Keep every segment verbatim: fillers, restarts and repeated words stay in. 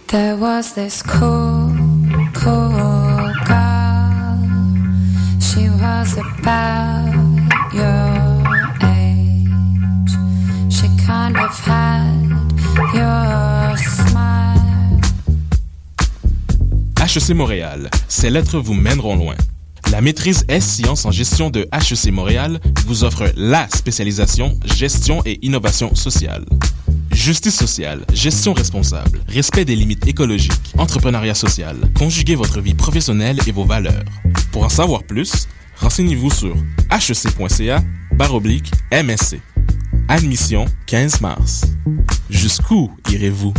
There was this cool, cool girl. She was about your age. She kind of had your smile. H E C Montréal, ces lettres vous mèneront loin. La maîtrise S-Sciences en gestion de H E C Montréal vous offre la spécialisation gestion et innovation sociale. Justice sociale, gestion responsable, respect des limites écologiques, entrepreneuriat social, conjuguez votre vie professionnelle et vos valeurs. Pour en savoir plus, renseignez-vous sur hec.ca barre oblique M S C. Admission quinze mars. Jusqu'où irez-vous?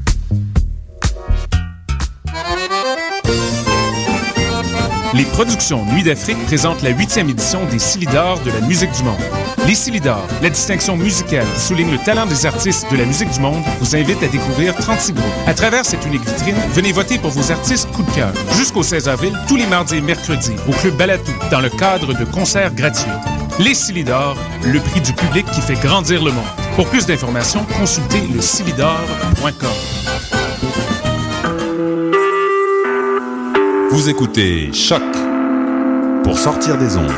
Les productions Nuit d'Afrique présentent la huitième édition des Silidor de la musique du monde. Les Silidor, la distinction musicale qui souligne le talent des artistes de la musique du monde, vous invite à découvrir trente-six groupes. À travers cette unique vitrine, venez voter pour vos artistes coup de cœur. Jusqu'au seize avril, tous les mardis et mercredis, au Club Balatou, dans le cadre de concerts gratuits. Les Silidor, le prix du public qui fait grandir le monde. Pour plus d'informations, consultez le silidor point com. Vous écoutez Choc pour sortir des ondes.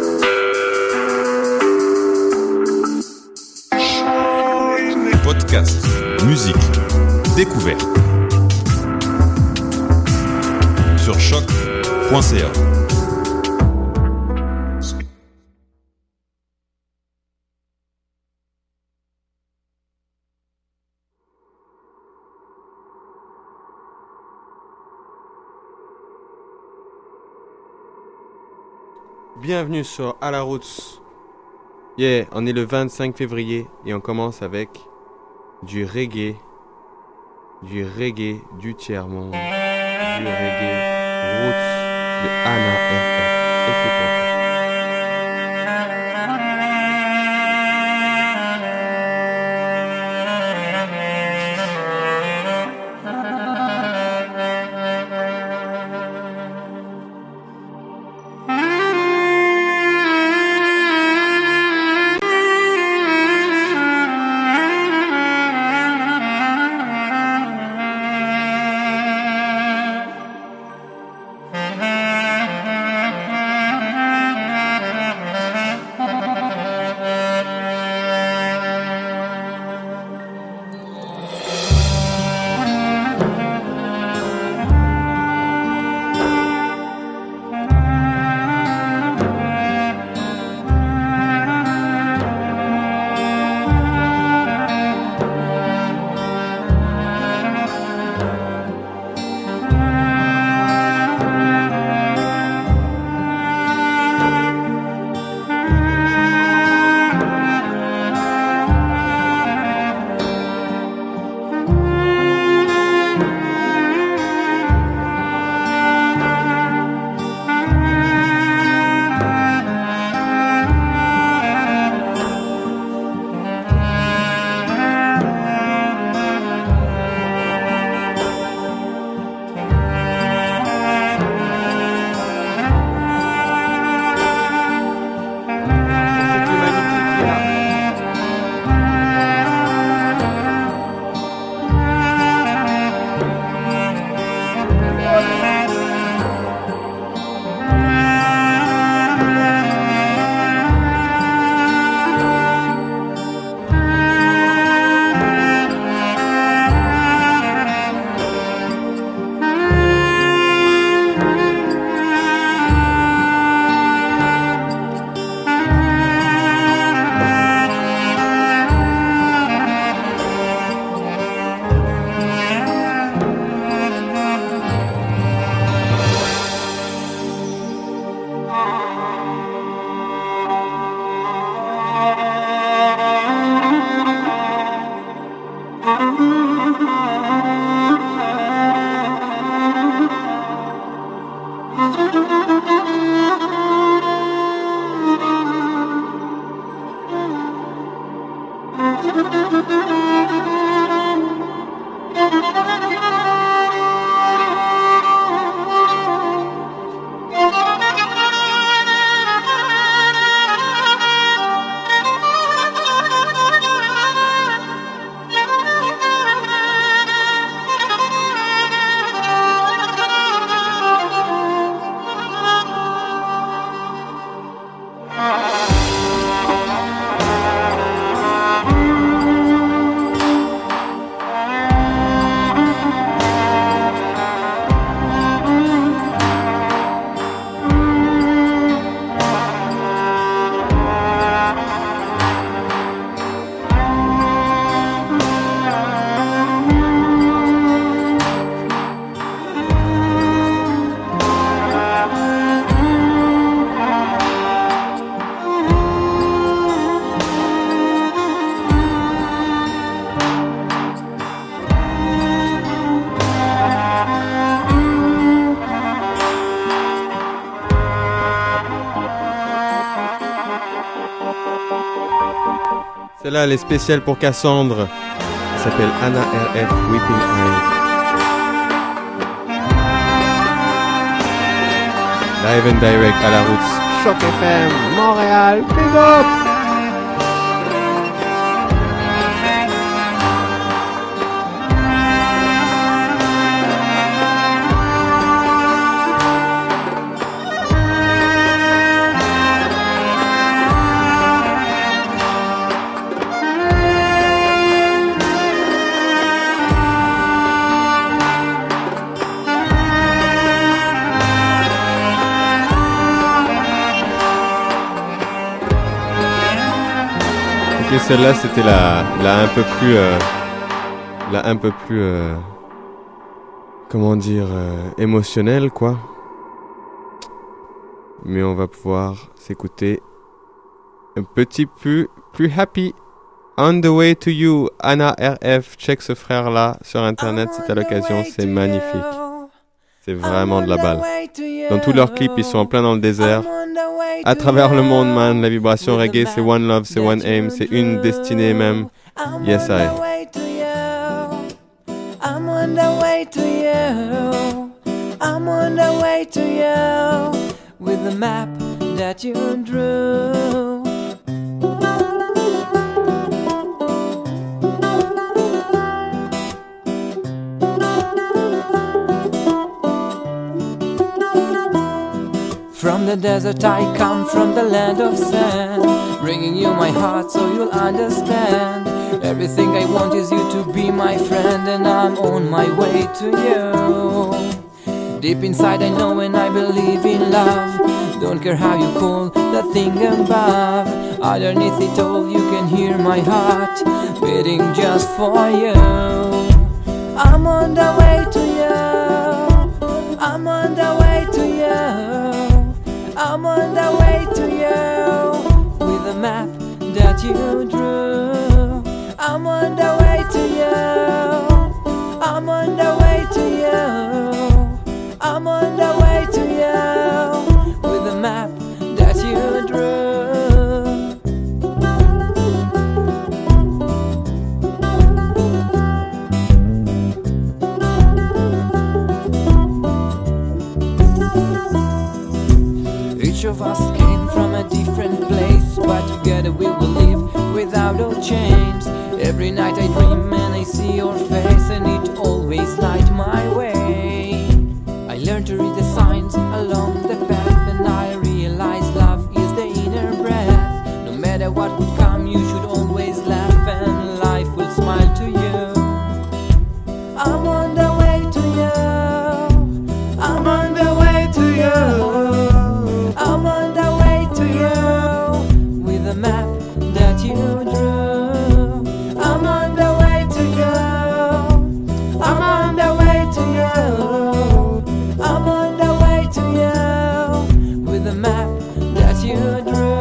Podcast, musique, découverte. Sur choc point c a. Bienvenue sur À la Roots. Yeah, on est le vingt-cinq février et on commence avec du reggae, du reggae du tiers-monde, du reggae roots de Anna F F. Écoutons. Celle-là, elle est spéciale pour Cassandre. Elle s'appelle Anna R F Weeping Eyes. Live and direct à la route. Choc F M, Montréal, big up! Ok, celle-là c'était la, la un peu plus, euh, la un peu plus, euh, comment dire, euh, émotionnelle quoi. Mais on va pouvoir s'écouter un petit peu plus happy. On the way to you, Anna R F. Check ce frère-là sur internet si t'as l'occasion, c'est magnifique. C'est vraiment de la balle. Dans tous leurs clips, ils sont en plein dans le désert. À travers le monde, man, la vibration reggae, c'est one love, c'est one aim, c'est une destinée même. Yes, I. I'm on the way to you. I'm on the way to you. With the map that you drew. From the desert I come, from the land of sand, bringing you my heart so you'll understand. Everything I want is you to be my friend, and I'm on my way to you. Deep inside I know and I believe in love. Don't care how you call the thing above. Underneath it all you can hear my heart beating just for you. I'm on the way to you. I'm on the way to you. I'm on the way to you. With the map that you drew. I'm on the way to you. I'm on the way to you. I'm on the way to you. With the map that you drew. Each of us came from a different place, but together we will live without no chains. Every night I dream and I see your face, and it always lights my way. I learned to read the signs along the path, and I realized love is the inner breath. No matter what would come, you should always laugh, and life will smile to you. I'm on the way to you. I'm on the way to you. I'm on the way to you. With a map that you drew. I'm on the way to you. I'm on the way to you. I'm on the way to you. With a map that you drew.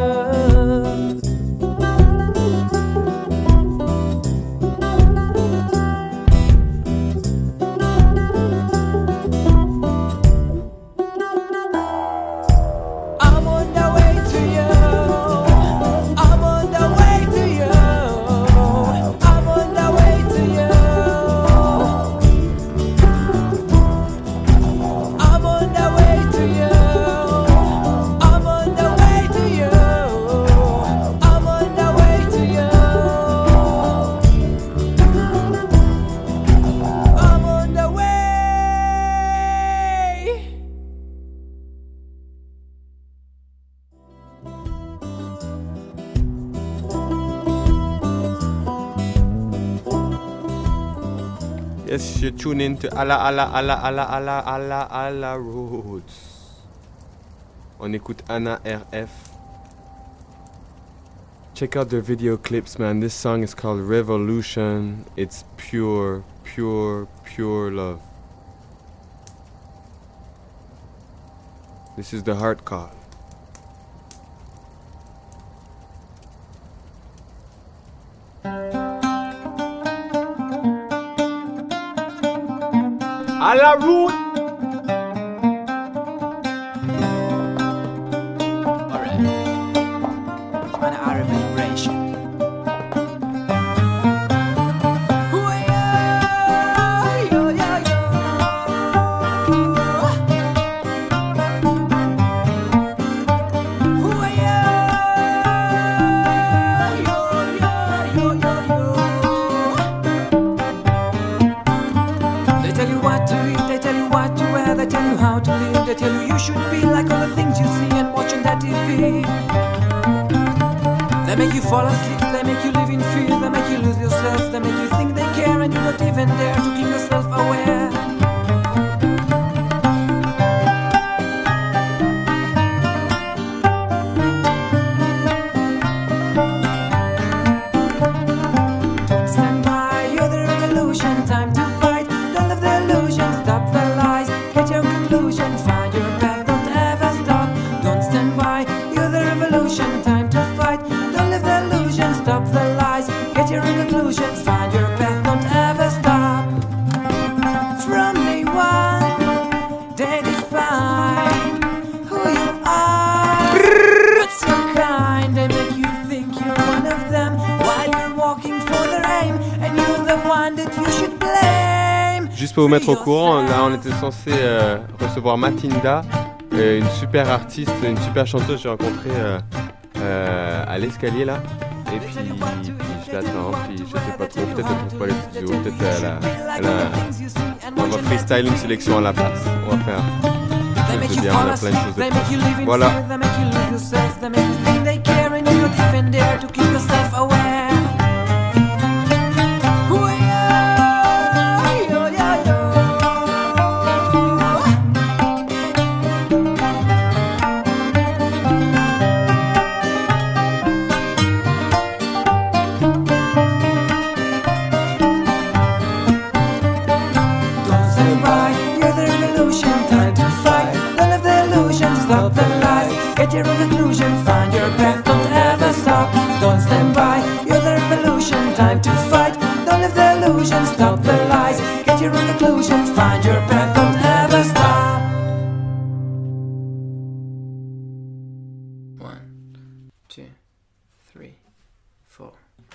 I'm on the way to you. I'm on the way to you. I'm on the way to you. I'm on the way to you. I'm on the way to you. I'm on the way to you. I'm on the way. Yes, you tune in to Alla Alla Alla Alla Alla Alla Alla Roots. On écoute Anna R F. Check out their video clips, man. This song is called Revolution. It's pure, pure, pure love. This is the heart call. À la route. Alright. On our vibration. make you live in fear, they make you lose yourself, they make you think they care and you don't even dare to keep yourself aware. Stand by, you're the revolution, time to fight. Don't live the illusion, stop the lies, get your conclusion, find your path, don't ever stop. Don't stand by, you're the revolution, time to fight. Don't live the illusion, stop the lies, get your conclusion, find your path, don't ever stop. From day one, they define who you are. What's your kind? They make you think you're one of them while you're walking for their aim, and you're the one that you should blame. Juste pour vous mettre au courant, là on était censé euh, recevoir Matinda, euh, une super artiste, une super chanteuse que j'ai rencontrée euh, euh, à l'escalier là. Et puis, puis je l'attends, puis je sais pas trop, peut-être elle trouve pas les studios, peut-être elle a, elle a... On va freestyle une sélection à la place, on va faire quelque chose de bien, on a plein de choses de faire. Voilà. Stop the lies, get your conclusion, find your path, don't ever stop. Don't stand by, you're the revolution, time to fight. Don't live the illusion, stop the lies, get your conclusion, find your path, don't ever stop. One, two, three, four.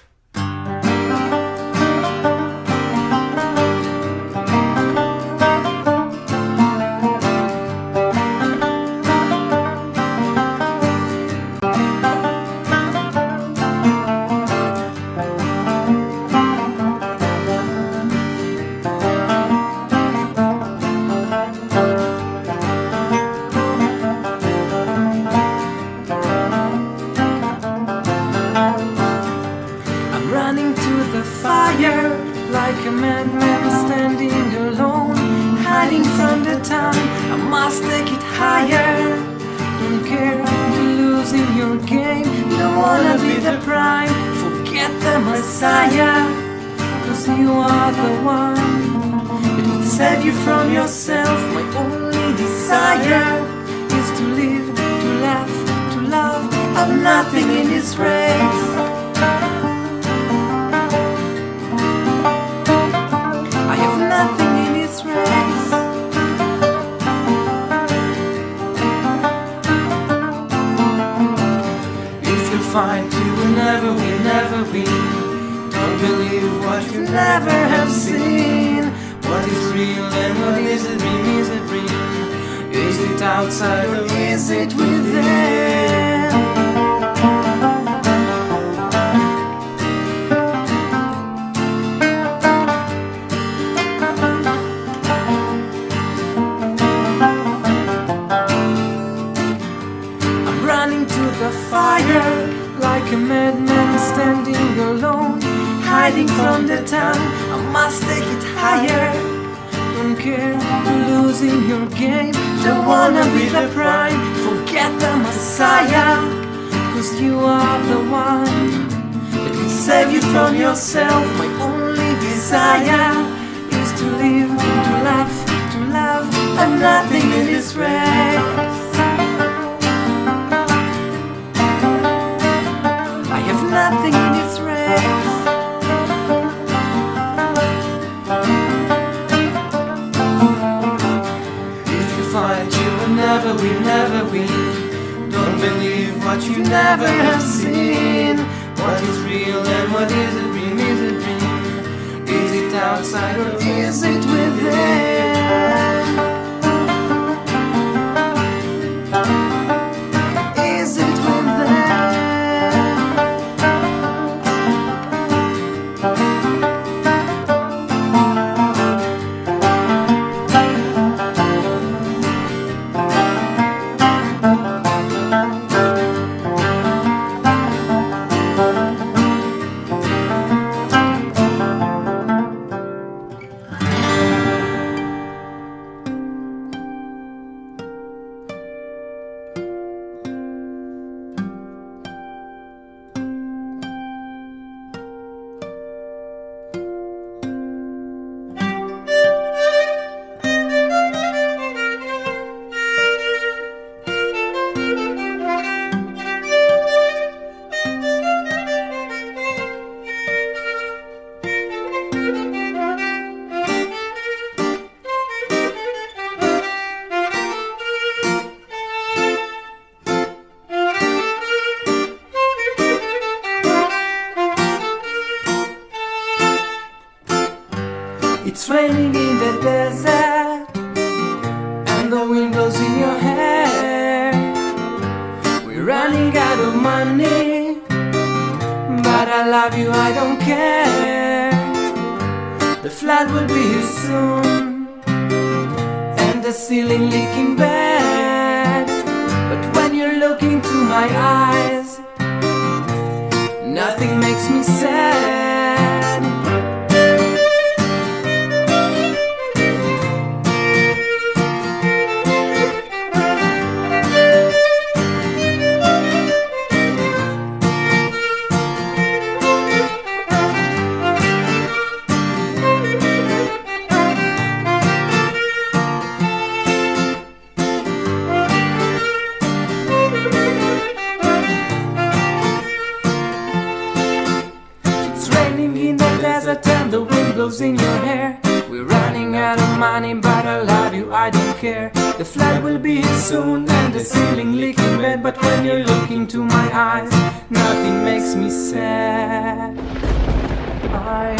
Like a madman standing alone, hiding from the town, I must take it higher. Don't care if you're losing your game, don't wanna be the prime, forget the Messiah. Cause you are the one that would save you from yourself. My only desire is to live, to laugh, to love. I've nothing in this race. Nothing in this race. If you fight, you will never win, never win. Don't believe what you never have seen. What is real and what is a dream, is a dream. Is it outside or is it within? Fire, like a madman standing alone, hiding from the town, I must take it higher. Don't care if you're losing your game, don't wanna be the prime, forget the Messiah. Cause you are the one that can save you from yourself. My only desire is to live, to laugh, to love. I'm nothing in this race. Nothing in this race. If you fight, you will never win, never win. Don't believe what you never have seen. What is real and what is a dream, is a dream. Is it outside or is it within? Is it within? It's raining in the desert, and the wind blows in your hair. We're running out of money, but I love you, I don't care. The flood will be here soon, and the ceiling leaking bad. But when you're looking to my eyes, nothing makes me sad. In your hair, we're running out of money, but I love you, I don't care. The flood will be here soon, and the ceiling leaking bad. But when you're looking to my eyes, nothing makes me sad. I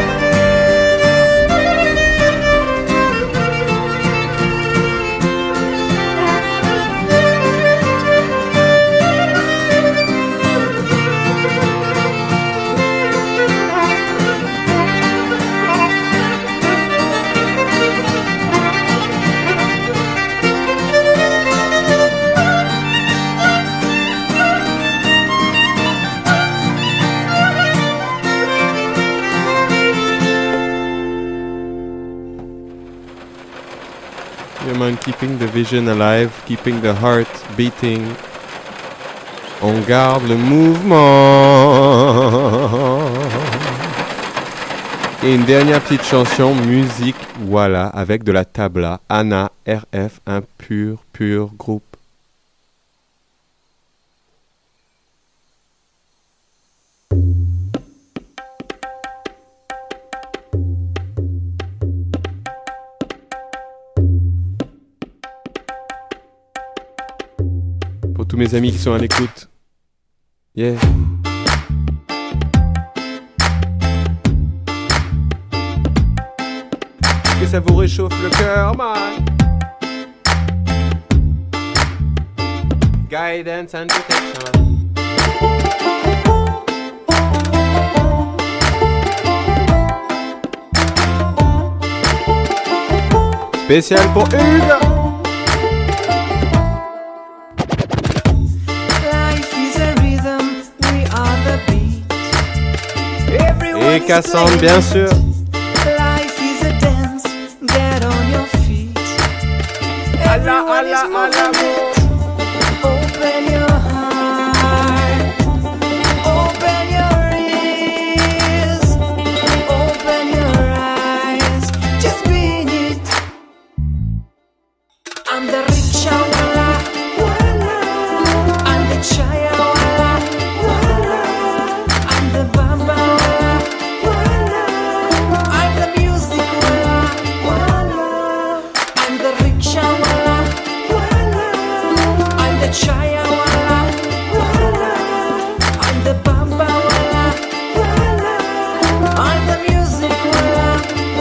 Man, keeping the vision alive, keeping the heart beating. On garde le mouvement. Et une dernière petite chanson, musique, voilà, avec de la tabla. Anna, R F, un pur, pur groupe. Tous mes amis qui sont à l'écoute. Yeah. Que ça vous réchauffe le cœur, man. Guidance and protection. Spécial pour Hugues. Et Cassandre, bien sûr. Life is a dance, get on your feet. Allah, Allah, Allah. Open your heart, open your ears, open your eyes, just be in it. I'm the rickshaw wala, I'm the chaya wala, I'm the bamba wala. Chaya wala, I'm the bamba wala, I'm the music wala,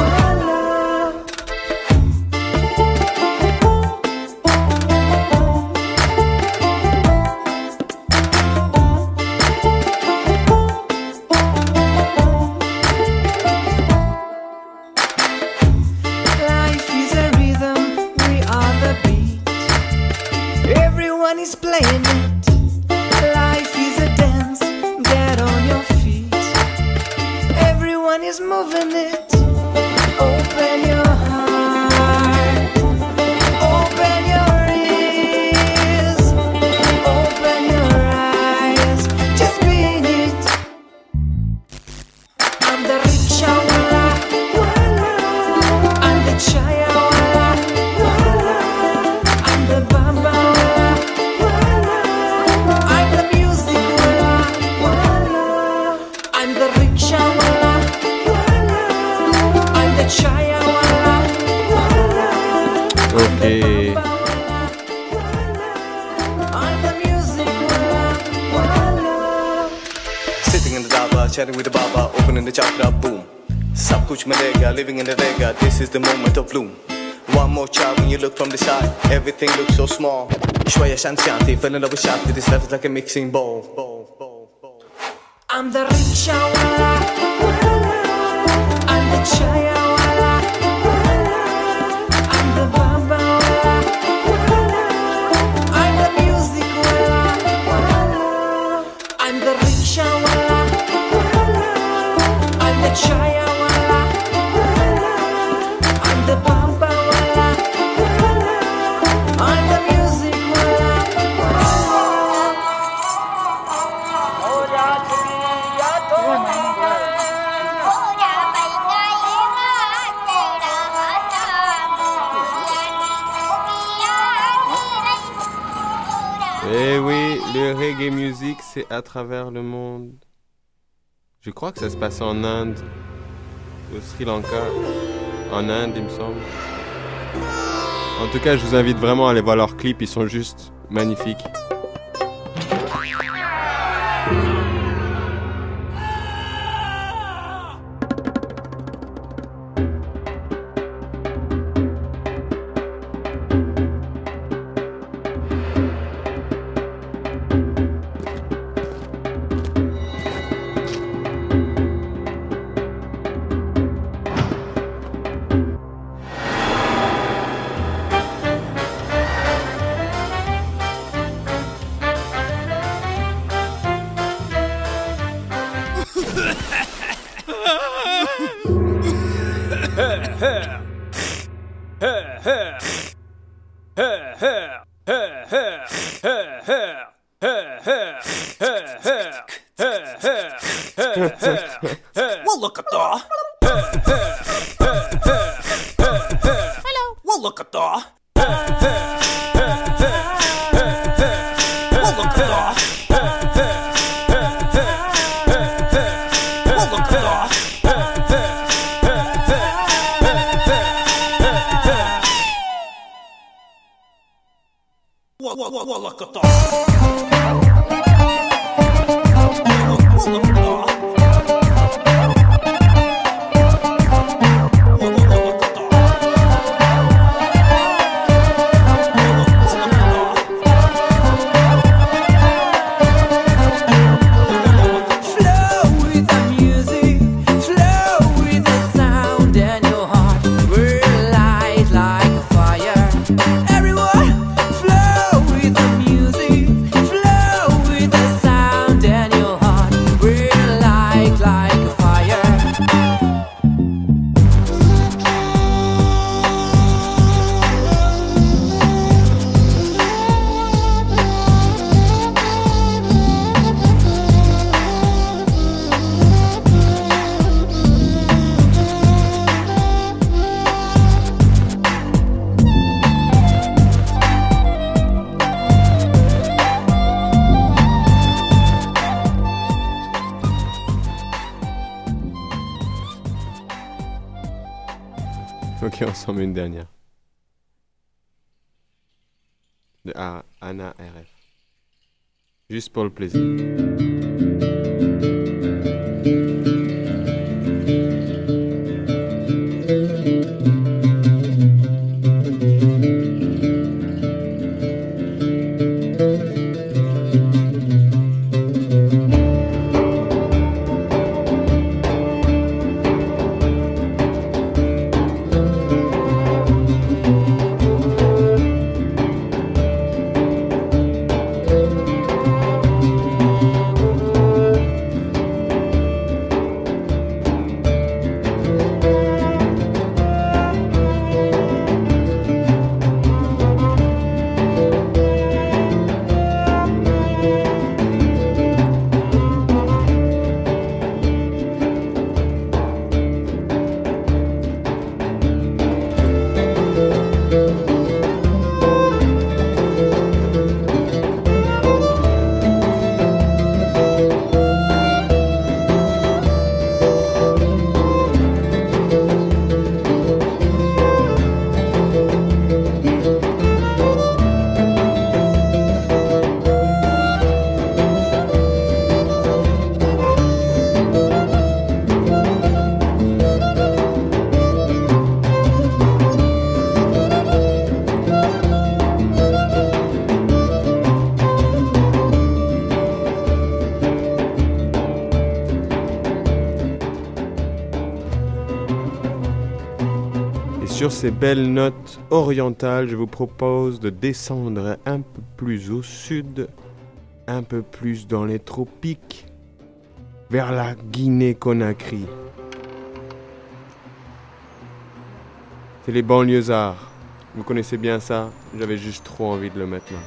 life is a rhythm, we are the beat. Everyone is playing it. Life is a dance, get on your feet. Everyone is moving it. Open your heart, open your ears, open your eyes, just be in it. I'm the rickshaw wala, I'm the chaya wala, I'm the bamba wala, I'm the music wala, I'm the rickshaw wala, I'm the chaya wala, I'm the bamba wala, I'm the music wala. Sitting in the dhaba, chatting with the baba, opening the chakra, boom. Sab kuch milega, living in the rega, this is the moment of bloom. One more child when you look from the side, everything looks so small. Shwaya shanti, fell in love with Shanti, this life is like a mixing bowl. I'm the rickshaw wala, I'm the chaya wala, I'm the bamba wala, I'm the music wala, I'm the rickshaw wala, I'm the chaya wala, I'm the bamba wala, I'm the music wala. Eh oui, le reggae music, c'est à travers le monde. Je crois que ça se passe en Inde, au Sri Lanka, en Inde, il me semble. En tout cas, je vous invite vraiment à aller voir leurs clips, ils sont juste magnifiques. Well, look at that. Hello. Well, look at that. Well, look at that. Well, look at that. Well, well, well, well, look at that. Well, look at that. Ok, on s'en met une dernière. De A- Anna R F. Juste pour le plaisir. Thank Sur ces belles notes orientales, je vous propose de descendre un peu plus au sud, un peu plus dans les tropiques, vers la Guinée-Conakry. C'est les banlieusards. Vous connaissez bien ça, j'avais juste trop envie de le mettre là.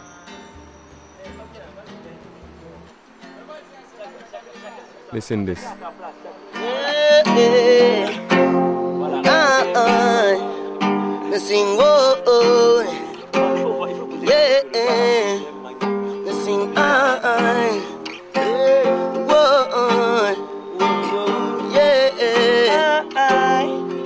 Listen this. Yeah, yeah. Ah, ah. Me sing, oh, oh. Yeah, yeah. Me sing, ah, ah. Yeah, oh, oh. Yeah, yeah. Ah,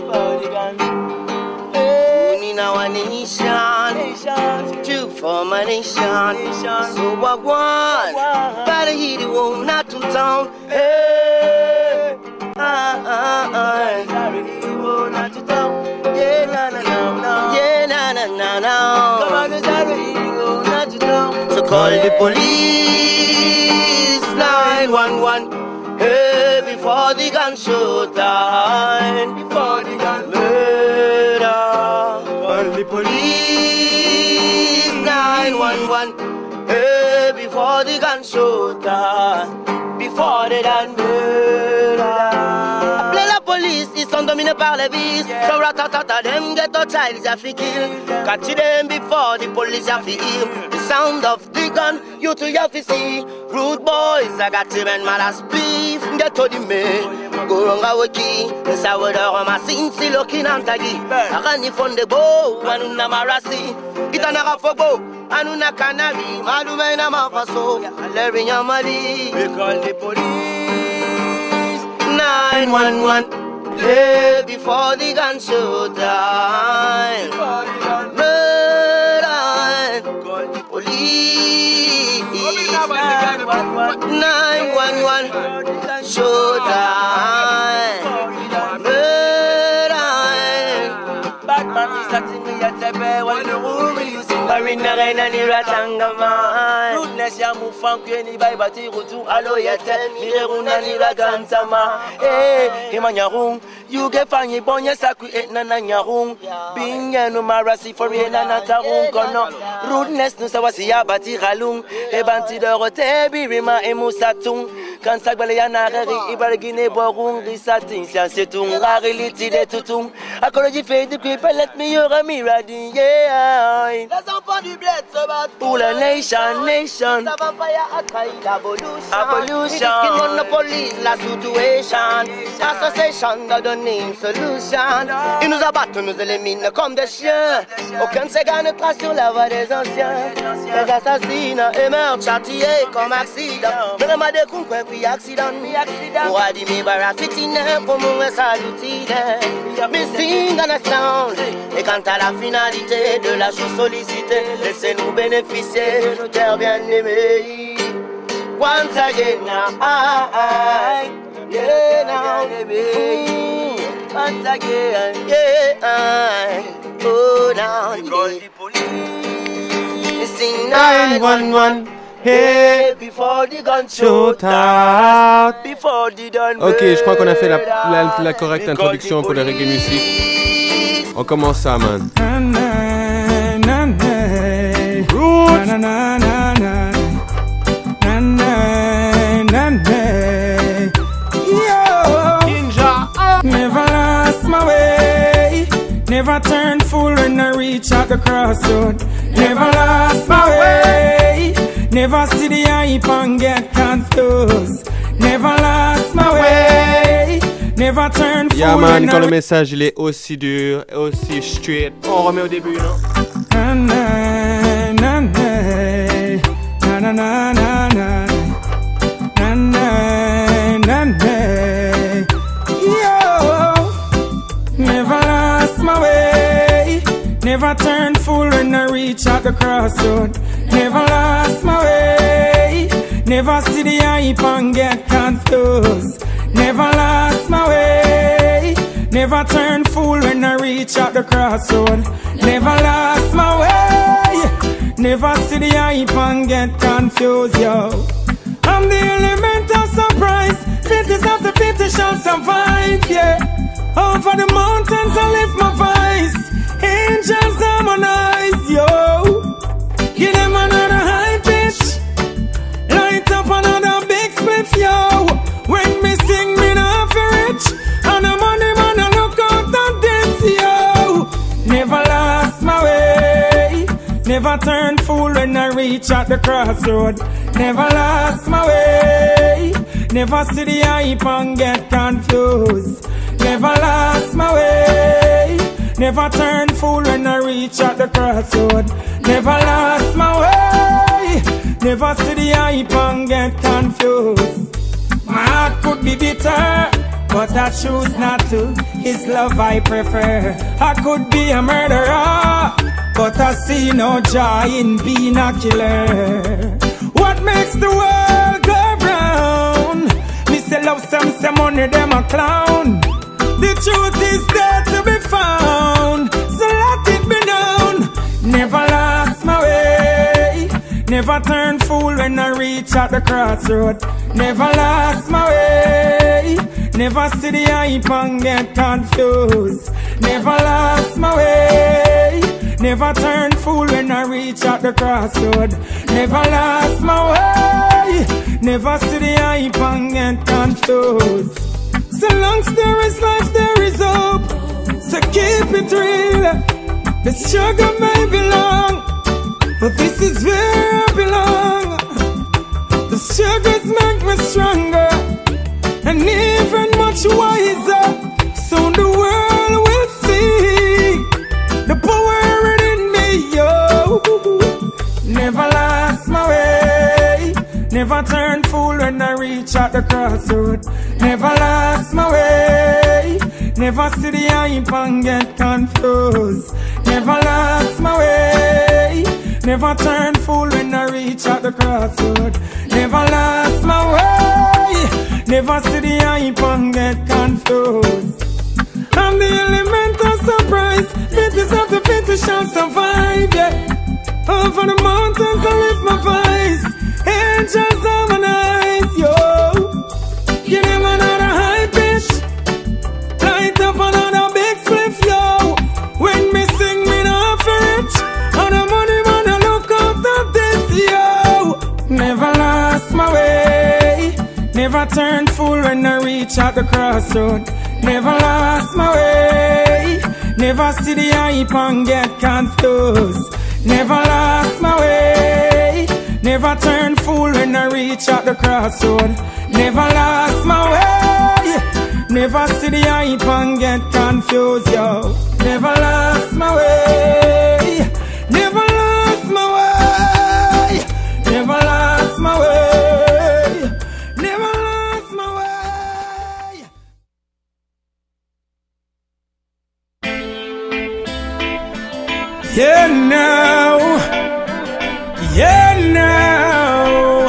ah. We need our nation, two for my nation. So I want, gotta hit it, won't not to town. Hey, ah, ah, ah. Sorry, he won't not to town. Yeah, na na na na. Yeah, na na na na. Come on, sorry, he won't not to town. So call the police, nine one one. Hey, before the gun show time, before the gun murder. Call the police, nine one one. Hey, before the gun show time, before the gun murder. Appelez la police, ils sont dominés par les vices. Yeah. So ratatata, them get a child, they have to kill. Catch them before the police have to hear. The sound of the gun, you two have to see. Rude boys, I got them and mad as beef. Get to the man, go wrong a wiki. The sour dog, my sin, see looking and taggy. I ran if on the bow, and una marasi. It's an arafobo, and una canary. Malume na mafaso, Larry Yamadi. We call the police, nine one one. Yeah, before the gun show time. Murder, call the police. nine one one. Show time. Murder. Batman is acting me at the bay when the room is using Marina Reina Niratangama. Goodness, Yamu Funk, any by Bati Rutu, Alo Yatem, Miruna Niragantama. Eh, Himanyarung, you get funny bonya saku et nananyarung. Being a numerasi for Renanatarung, Kono. Rudeness no Sawasia Bati Ralung, Ebanti de Rote, Birima Emusatung. Quand Sagbalayana, Ibargine Borung, Risating, Siasetung, Rariliti de Tutung. Akology fait du people, let me hear a miradi, yeah. Les enfants du bled se battent pour la nation, nation. Ça va pas y attraire l'abolution. Abolution. It on the police, la situation. Association that the name solution. Ils nous abattent, nous éliminent comme des chiens. Aucun de ces gars ne trace sur la voie des anciens. Les assassinats et meurtres châtiés comme accident. Mais le mal de conquête, puis accident. Pour adimer barafitine, pour mourir saluter. Missing on a sound. Et quant à la finalité de la chose sollicitée, laissez-nous bénéficier de nos terres bien aimées. Once again, now, I, yeah, now, mm, once again, yeah, I, oh, now, sing nine one one. Hey, before the gun shoot out, before the done. Ok, je crois qu'on a fait la, la, la correcte introduction pour le reggae music. On commence ça, man. Roots. Never lost my way. Never turned fool when I reach out the crossroad. Never lost my way. Never see the hype and get confused. Never lost my way. Never turn fool. Yeah man, quand le message il est aussi dur, aussi straight, on remet au début, non? Na na na na na na na na na na na. Yo, never lost my way. Never turned fool when I reach out the crossroad. Never lost my way. Never see the hype and get confused. Never lost my way. Never turn fool when I reach out the crossroad. Never lost my way. Never see the hype and get confused, yo. I'm the element of surprise. Fittest of the fittest shall survive, yeah. Over the mountains I lift my vibe. Never turn fool when I reach at the crossroad. Never lost my way. Never see the hype and get confused. Never lost my way. Never turn fool when I reach at the crossroad. Never lost my way. Never see the hype and get confused. My heart could be bitter, but I choose not to. His love I prefer. I could be a murderer, but I see no joy in being a killer. What makes the world go round? Me say love some, say money, them a clown. The truth is there to be found, so let it be known. Never lost my way. Never turn fool when I reach at the crossroad. Never lost my way. Never see the hype and get confused. Never lost my way. Never turn fool when I reach at the crossroad. Never lost my way. Never see the hype and get confused. So long as there is life, there is hope. So keep it real. The struggle may be long, but this is where I belong. The struggles make me stronger and even much wiser. Soon the world will see the power within me, yo. Never lost my way. Never turn fool when I reach at the crossroad. Never lost my way. Never see the hype and get confused. Never lost my way. Never turn fool when I reach at the crossroad. Never lost my way. Never see the hype and get confused. I'm the element of surprise. Fittest of the fittest shall survive, yeah. Over the mountains I lift my voice. Angels harmonize, yo. Give them another high pitch. Light up another big spliff, yo. When me sing, me not for it. On the money, man, I look out of this, yo. Never lost my way. Never turn fool when I reach at the crossroad. Never lost my way. Never see the hype and get confused. Never lost my way. Never turn fool when I reach at the crossroad. Never lost my way. Never see the hype and get confused, yo. Never lost my way. Never lost my way. Never lost my way. Never lost my way. Yeah, now. Yeah, now.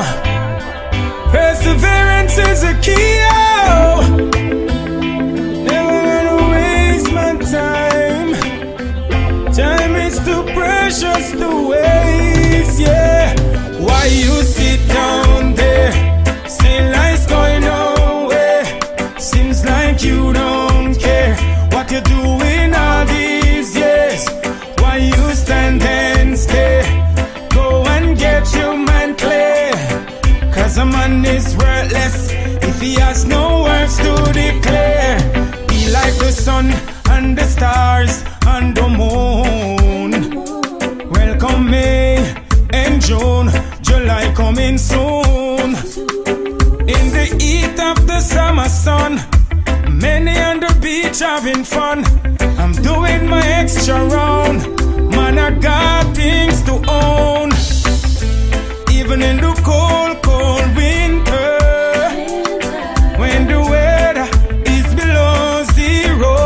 Perseverance is a key, oh. Never gonna waste my time. Time is too precious to waste, yeah. Why you sit down there? Say life's going nowhere. Seems like you don't care what you're doing all these years. Why you stand and stare? Go and get your mind clear. Cause a man is worthless if he has no words to declare. Be like the sun and the stars and the moon. Welcome May and June, July coming soon. In the heat of the summer sun, many on the beach having fun. I'm doing my extra round. Man, I got things to own. Even in the cold, cold winter, when the weather is below zero,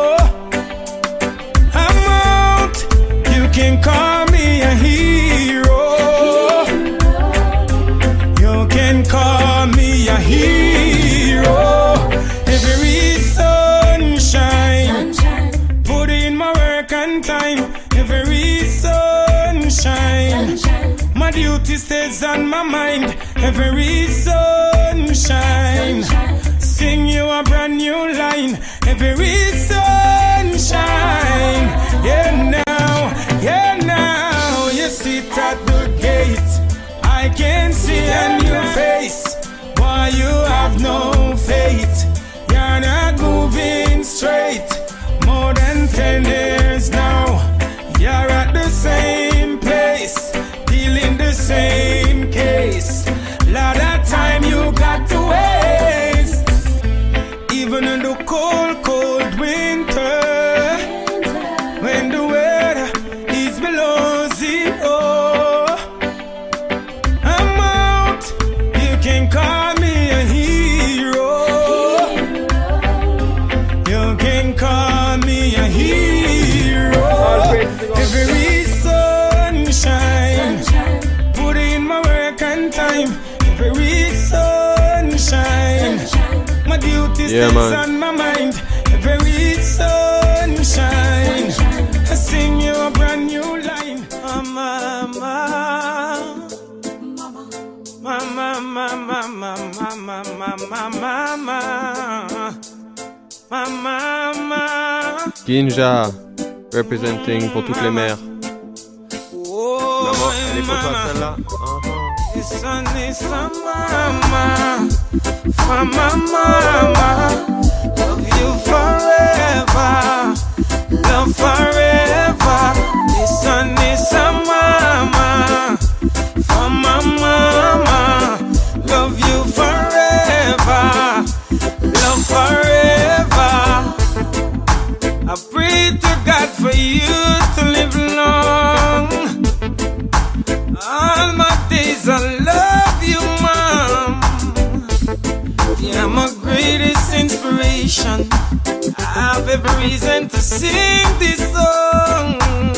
I'm out. You can call me a hero. You can call me a hero. Every sunshine, put in my work and time. Every sunshine, my duty stays on my mind. Every sunshine, sing you a brand new line. Every sunshine, yeah now, yeah now. You sit at the gate, I can see a new face. Why you have no faith? You're not moving straight. More than ten years now, you're at the same place. the cold, cold winter, when the weather is below zero, I'm out. You can call me a hero. You can call me a hero. Every sunshine, put in my work and time. Every sunshine, my duties Yeah, is man. on my mind. Every sunshine, I sing you a brand new line. Oh, mama, mama, mama, mama, mama, mama, mama, mama. Ginja, representing pour toutes les mères. Oh, Maman, elle est pour toi mama. celle-là. Uh-huh. Listen, listen, mama, mama, mama, love you forever, love forever. Listen, listen, mama, for my mama, love you forever, love forever. I pray to God for you to live long. All my days I love you, Mom. You're my greatest inspiration. I have every reason to sing this song.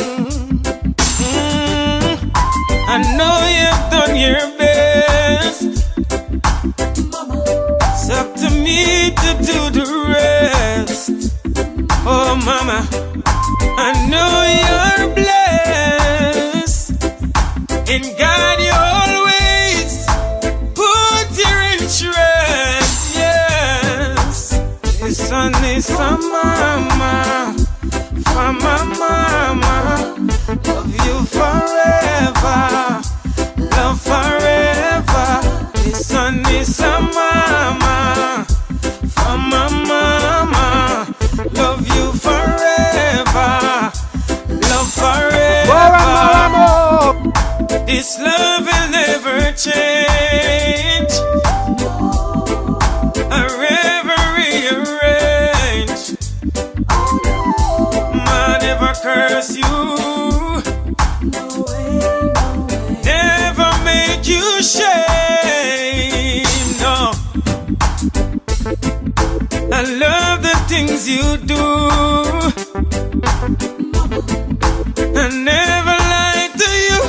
Mm, I know you've done your best. It's up to me to do the rest. Oh, Mama, I know you're blessed. In God you always put your interest, yes. Listen, listen, mama, for my mama, love you forever, love forever. Listen, listen, mama, for my mama, love you forever, love forever. This love will never change. I'll ever rearrange. Man, never curse you. Never make you shame. No. I love the things you do. I never lied to you.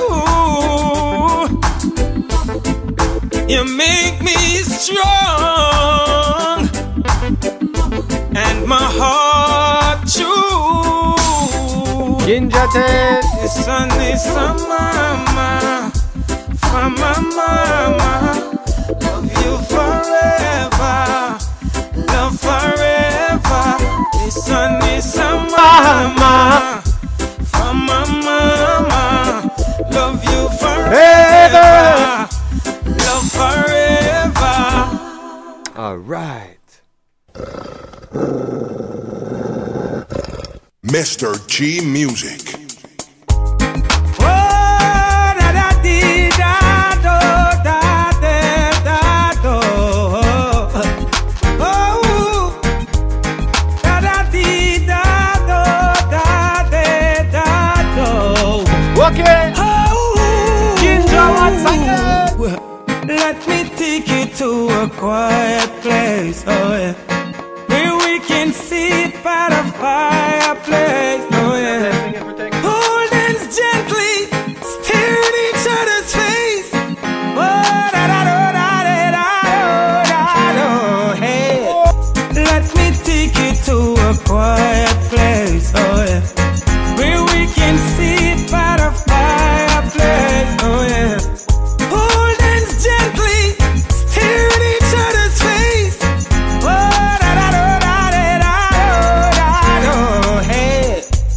You make me strong, and my heart true. Ginjate. Listen, listen, mama, for my mama, love you forever, love forever. Listen, listen, mama, for my mama, love you forever. Love forever. All right. Mister G Music. Oh, da da dee da do da de da do. Oh, da da dee da do da de da do. Okay. Oh, Ginja, what's again? let me take you to a quiet place, oh yeah, where we can sit by the fireplace, oh yeah. Hold hands gently, stare at each other's face. Oh, da da da da da da da da. Hey, let me take you to a quiet place, oh yeah, where we can sit by the fireplace, oh yeah. Hold hands gently, stare at each other's face. Oh, da da da da da da da. Hey,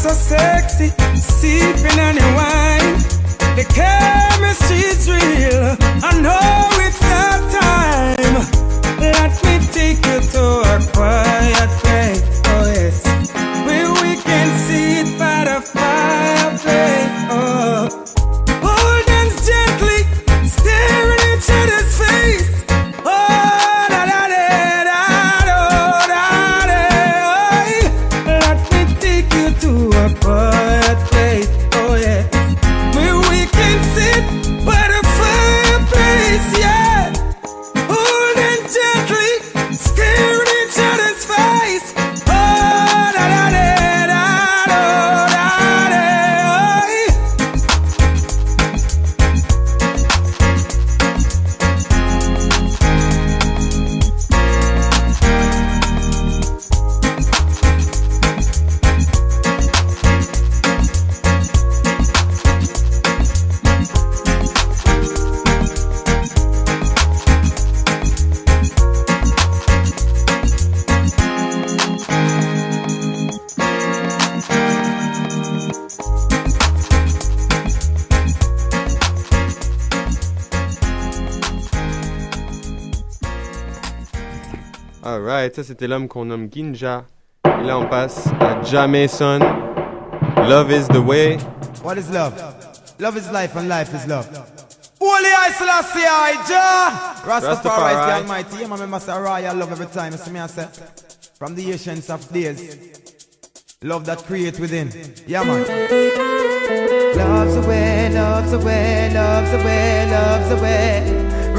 so sexy, sipping on your wine. The chemistry's real. I know it's that time. Let me take you to a quiet place. Oh yes, where we can sit by the fireplace. Oh, hold hands gently, staring each other's face. Oh, da da da da da da da. Let me take you to a quiet place. Oh yeah, where we can sit by the fireplace. Yeah, hold hands gently, staring each other's face. Oh, da da da da da da da. Alright, ça c'était l'homme qu'on nomme Ginja. Et là on passe à Jamason. Love is the way. What is love? Love is life and life is love. Holy I Selassie I Jah Rastafari is the Almighty. Yeah, my member say royal love every time. You see me I say from the ancients of days. Love that create within. Yeah man. Love's away, love's away, love's away, love's away.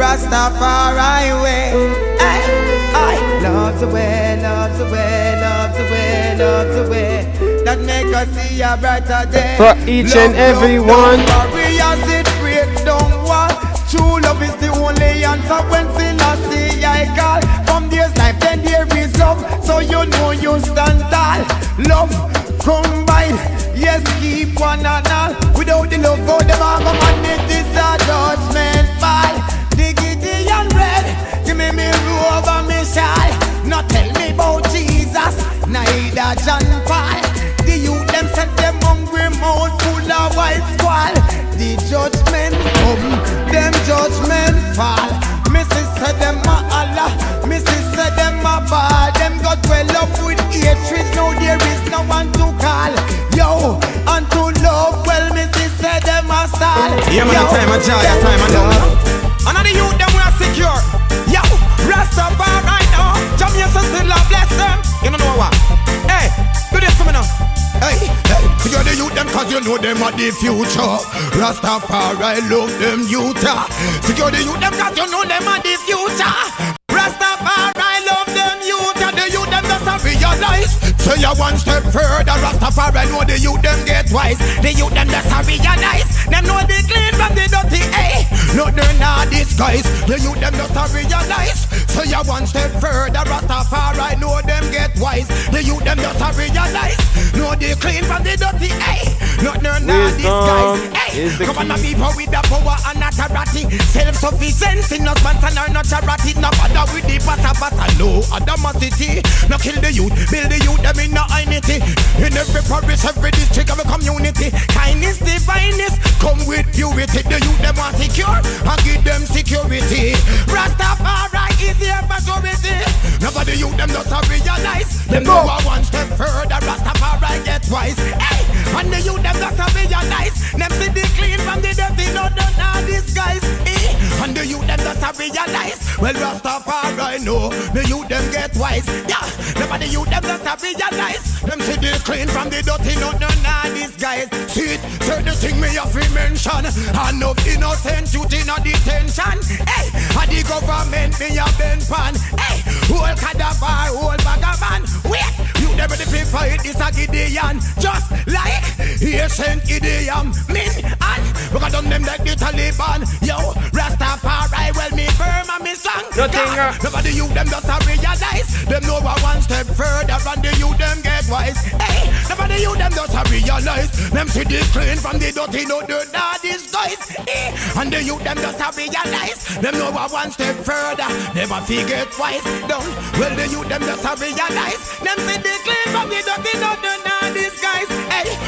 Rastafari way. Ay, ay. Love's away, love's away, love's away, love's away. That make us see a brighter day. For each love, and every one. Barriers it break down one. True love is the only answer when Selassie I call. From there's life then there is love. So you know you stand tall. Love combine. Yes, keep one and all. Without the love, go them all come and it is a judgment fall. Diggity and red, give me me robe and me shawl. Not tell me about Jesus, neither John Paul. The youth them set them hungry mouth full of white squall. The judgment come, them judgment fall. Missus said them a Allah, Missus said them a bad. Them got well up with hatred, now there is no one to call. Yo, and to love, well, Missus said them a stall. Yeah man, a time of joy, a time of love. Another youth them we are secure. Yo, Rastafari right now. Jamaica still love bless them. You don't know what? Hey, do this for me now. Hey, hey, secure the youth them cause you know them are the future. Rastafari love them youth. Secure the youth them cause you know them are the future. Rastafari love them youth. The youth them just a realize. Say you one step further. Rastafari know the youth them get wise. The youth them just a realize. Them know the clean from the dirty. Hey, no they're not disguise. The youth them just a realize. Say you one step further. Rastafari know them get wise. The youth them just a realize. Know the clean from the dirty. Hey, no they're not disguise. Hey, come on, the people with the power and authority. Self-sufficiency, no sponsor nor no charity. No bother with the passa passa, no animosity. No kill the youth, build the youth them in no unity. In every parish, every district, every community. Kindness, divineness, come with purity. The youth them are secure and give them security. Rastafari is here for security. Nobody youth them just a realize. Them go one step further. Rastafari get wise. Hey, and the youth them just a realize. Them see the clean from the dirty, no no no disguise. Hey, and the youth them just a realize. Well Rastafari know the youth them get wise. Yeah, nobody youth them just a realize. Them see the clean from the dirty, no no no disguise. See it, say the thing me have to mention. Enough innocent youth in a detention. Hey, and the government me a bend pan. Hey, whole cadaver, whole vagabond. Wait, you never the fight this a Gideon. Just like ancient Gideon. Min and we got done them like the Taliban. Yo, Rastafari, well me firm and me strong. Nothing. Nobody you them just a realize. Them know a one step further and the you them get wise. Hey, nobody you them just a realize. Them see the clean from the dirty, no dirt, nah disguise. Hey, and the you them just a realize. Them know a one step further. Never forget wise. Down. Well the you them just a realize. Them see the clean from the dirty, no dirt, nah disguise. Hey,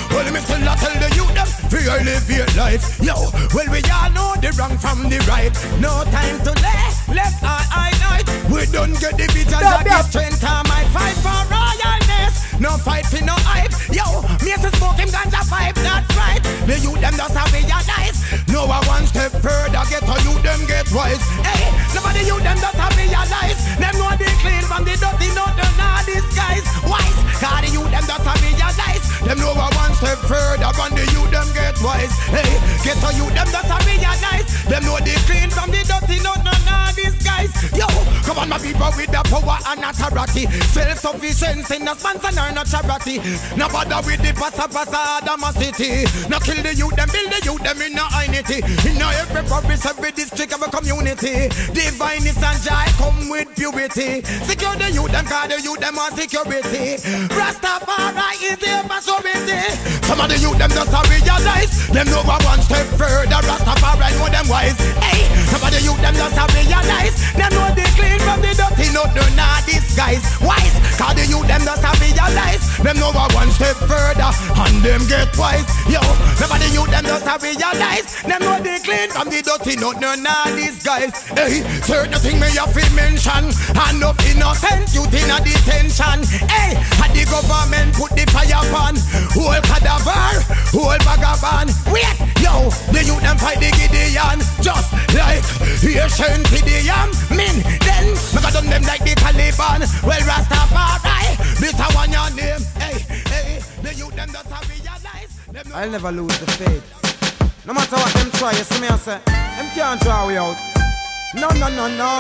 we elevate life. Yo, well we all know the wrong from the right. No time to left, left or I night. We don't get the vision that gives strength. I might fight for royalness. No fight for no hype. Yo, me say smoke him ganja pipe, that's right. The youth them just have realize. No a one step further, get to you them get wise. Hey, nobody you them just have realize. Them know they clean from the dirty, no they not disguise. Wise, cause the youth them just have realize. Them know a one step further, from the youth them get wise. Hey, get to you them just have realize. Them know they clean from the dirty, no they not disguise. Yo, come on my people with the power and authority. Self-sufficiency, no sponsor nor no charity. No bother with the passa passa Adamacity. No kill the youth, them build the youth, them in no unity. In no every province, every district of a community. Divineness and joy come with purity. Secure the youth, them call the youth, them on security. Rastafari is the majority. Some of the youth, them just a realize. Them know one step further. Rastafari know them wise. Hey, some of the youth, them just a realize. Them know they clean from the dirty, no do not disguise. Wise, cause the youth, them just a realize. Them know one step further and them get wise. Yo, nobody you them just a realize. Them know they clean from the dirty, no no nah disguise. Hey, certain thing me have to mention. And of innocent youth in a detention. Hey, and the government put the fire on whole cadaver, whole vagabond. Wait, yo, the youth them fight the Gideon just like Asian Gideon. Min, then me got done them like the Taliban. Well, Rastafari, this a one your name. Hey, hey, the youth them just a realize. I'll never lose the faith. No matter what them try, you see me I say, them can't draw we out. No, no, no, no.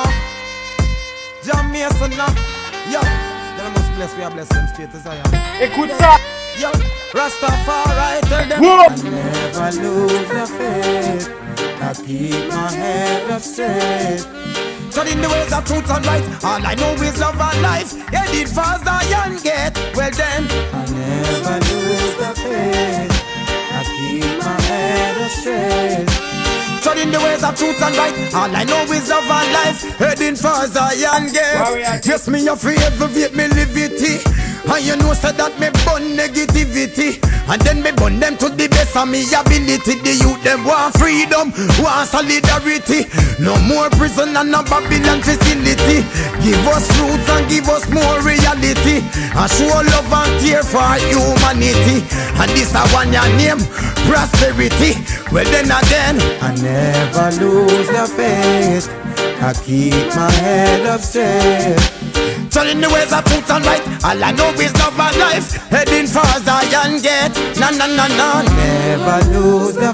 John Mason, no. Yo, then I must bless, we are blessed them straight as I am. Écoute ça. Yo, Rastafari, tell them. Whoa. I never lose the faith. I keep my head up straight. Studying the ways of truth and right. All I know is love and life. Headed for Zion gate. Well then, I never lose the faith. I keep my head up straight. Studying the ways of truth and right. All I know is love and life. Heading for Zion gate. Yes, me afraid of it, me liberty. And you know so that me burn negativity. And then me burn them to the best of me ability. The youth them want freedom, want solidarity. No more prison and no Babylon facility. Give us roots and give us more reality. And show love and care for humanity. And this a one your name, prosperity. Well then again, I never lose the faith. I keep my head up straight. Telling the ways of truth and right. All I know is love and life. Heading for Zion gate. No, no, no, no. Never lose the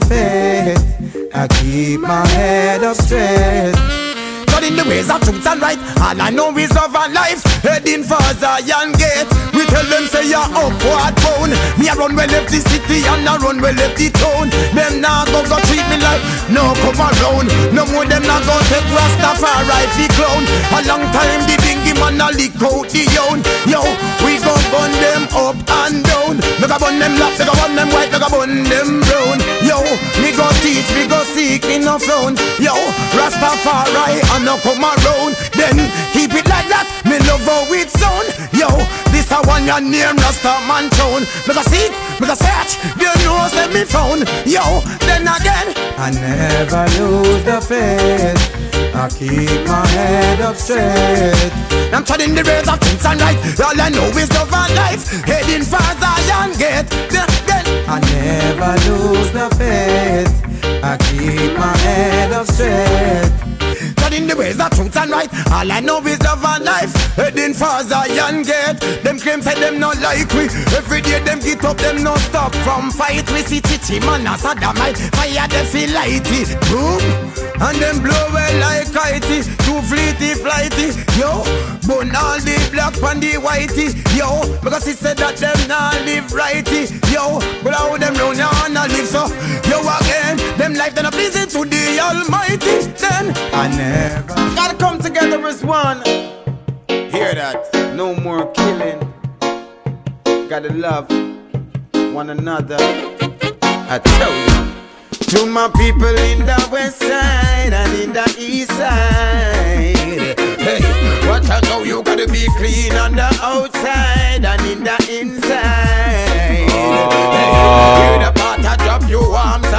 faith. I keep my head up straight. Telling the ways of truth and right. All I know is love and life. Heading for Zion gate. We tell them say you're upward bound. Me a run well left the city and I run well left the town. Them now go go treat me like no come around. No more them now go take Rastafari fi clown. A long time the dingy man a lick out the young. Yo, we go burn them up and down. We go burn them black, we go burn them white, we go burn them brown. Yo, me go teach, me go seek, me no frown. Yo, Rastafari and no come around. Then keep it like that, me love how it sound. Yo, this a one your name Rastaman town. Me go seek, me go search, you know say me found. Yo, then again, I never lose the faith. I keep my head up straight. I'm treading the rails of truth and right. All I know is love and life. Heading for Zion gate. Then, then I never lose the faith. I keep my head up straight. Treading the ways of truth and right. All I know is love and life. Heading for Zion gate. Them claim say them not like we. Every day them get up, them no stop from fight. We see Chichi man as a damite. Fire they feel lighty. Boom. And them blow well like kitey. Too fleety flighty. Yo, burn all the black and the whitey. Yo, because he said that them not live righty. Yo, but how them round ya wanna live so. Yo again, them life then a pleasing to the Almighty. Then I never gotta come together as one. Hear that? No more killing. Gotta love one another. I tell you. To my people in the west side and in the east side. Hey, what I know you gotta be clean on the outside and in the inside. Oh. Hey, hear the part I drop you arms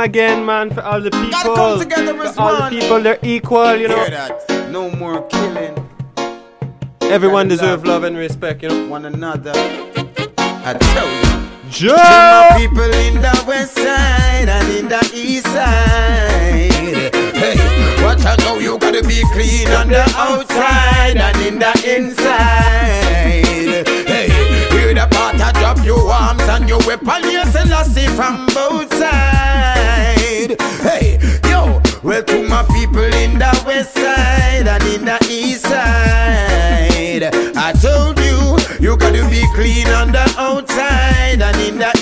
again, man, for all the people. Gotta come together as for all one. the people, they're equal, you know. Hear that? No more killing. Everyone Gotta deserves love love and respect, you know. one another. I tell you. Joe! My people in the west side and in the east side. Hey, watch out now, you gotta be clean on the outside and in the inside. Hey, hear the part I drop your arms and your weapon, yes, and I see from both sides. Hey, yo, well to my people in the west side and in the east side, I told you, you gotta be clean on the outside and in the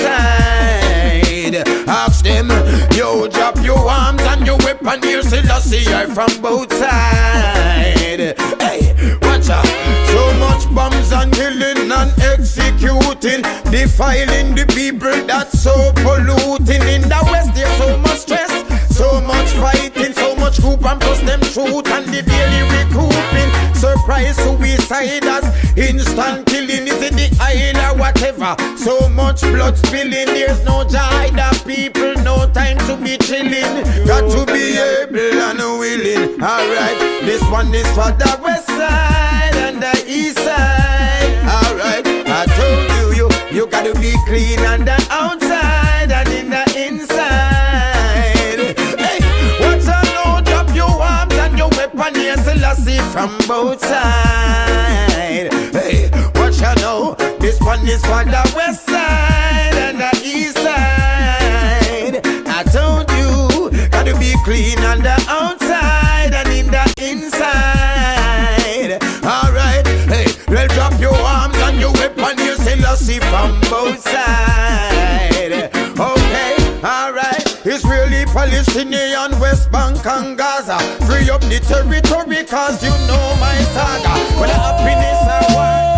inside. Ask them, yo, drop your arms and your weapon, here, Selassie, I from both sides. Hey, watch out. So much bombs and killing and executing, defiling the people that's so polluting. In the west there's so much stress, so much fighting, so much group and plus them truth and the daily recouping. Surprise suiciders, instant killing, is it the island or whatever? So much blood spilling, there's no joy, the people, no time to be chilling. Got to be able and willing. Alright, this one is for the west side and the east side. Alright, I told you, you, you gotta be clean on the outside and in the inside. Hey, what's a no, drop your arms and your weapon, yes, Selassie from both sides. Hey, watch out now, this one is for the west side and the east side. I told you, gotta be clean on the outside and in the inside. Alright, hey, well drop your arms and your weapon, you Selassie from both sides. Okay, alright, Israeli, Palestinian, West Bank and Gaza, free up the territory cause you know my saga. When the happiness I want.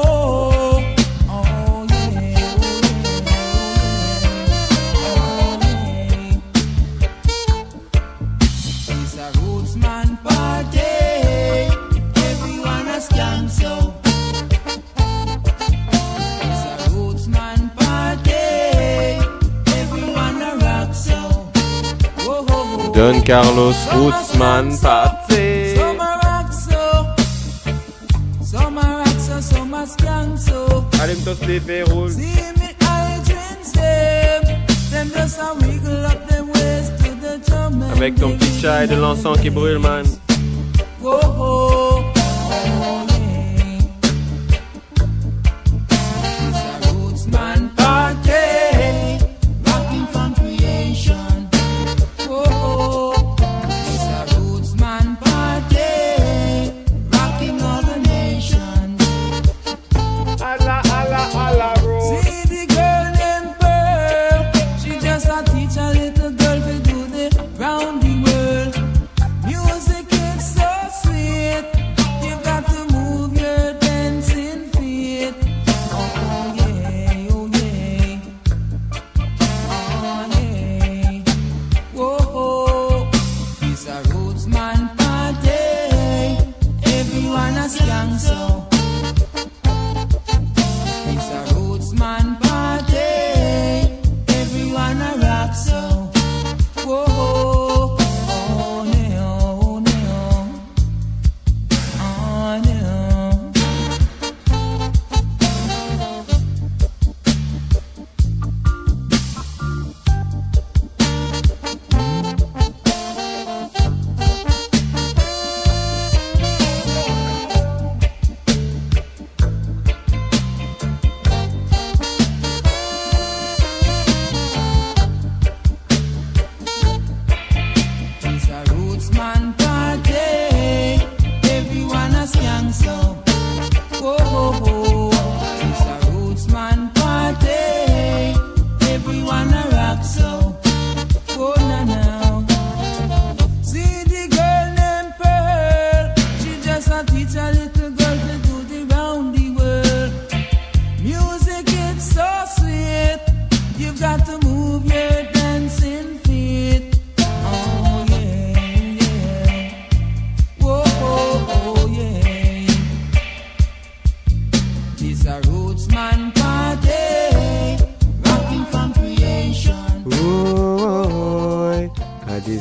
Don Carlos Rootsman party. Allume ton slip et roule. Avec ton petit chai de l'encens qui brûle, man.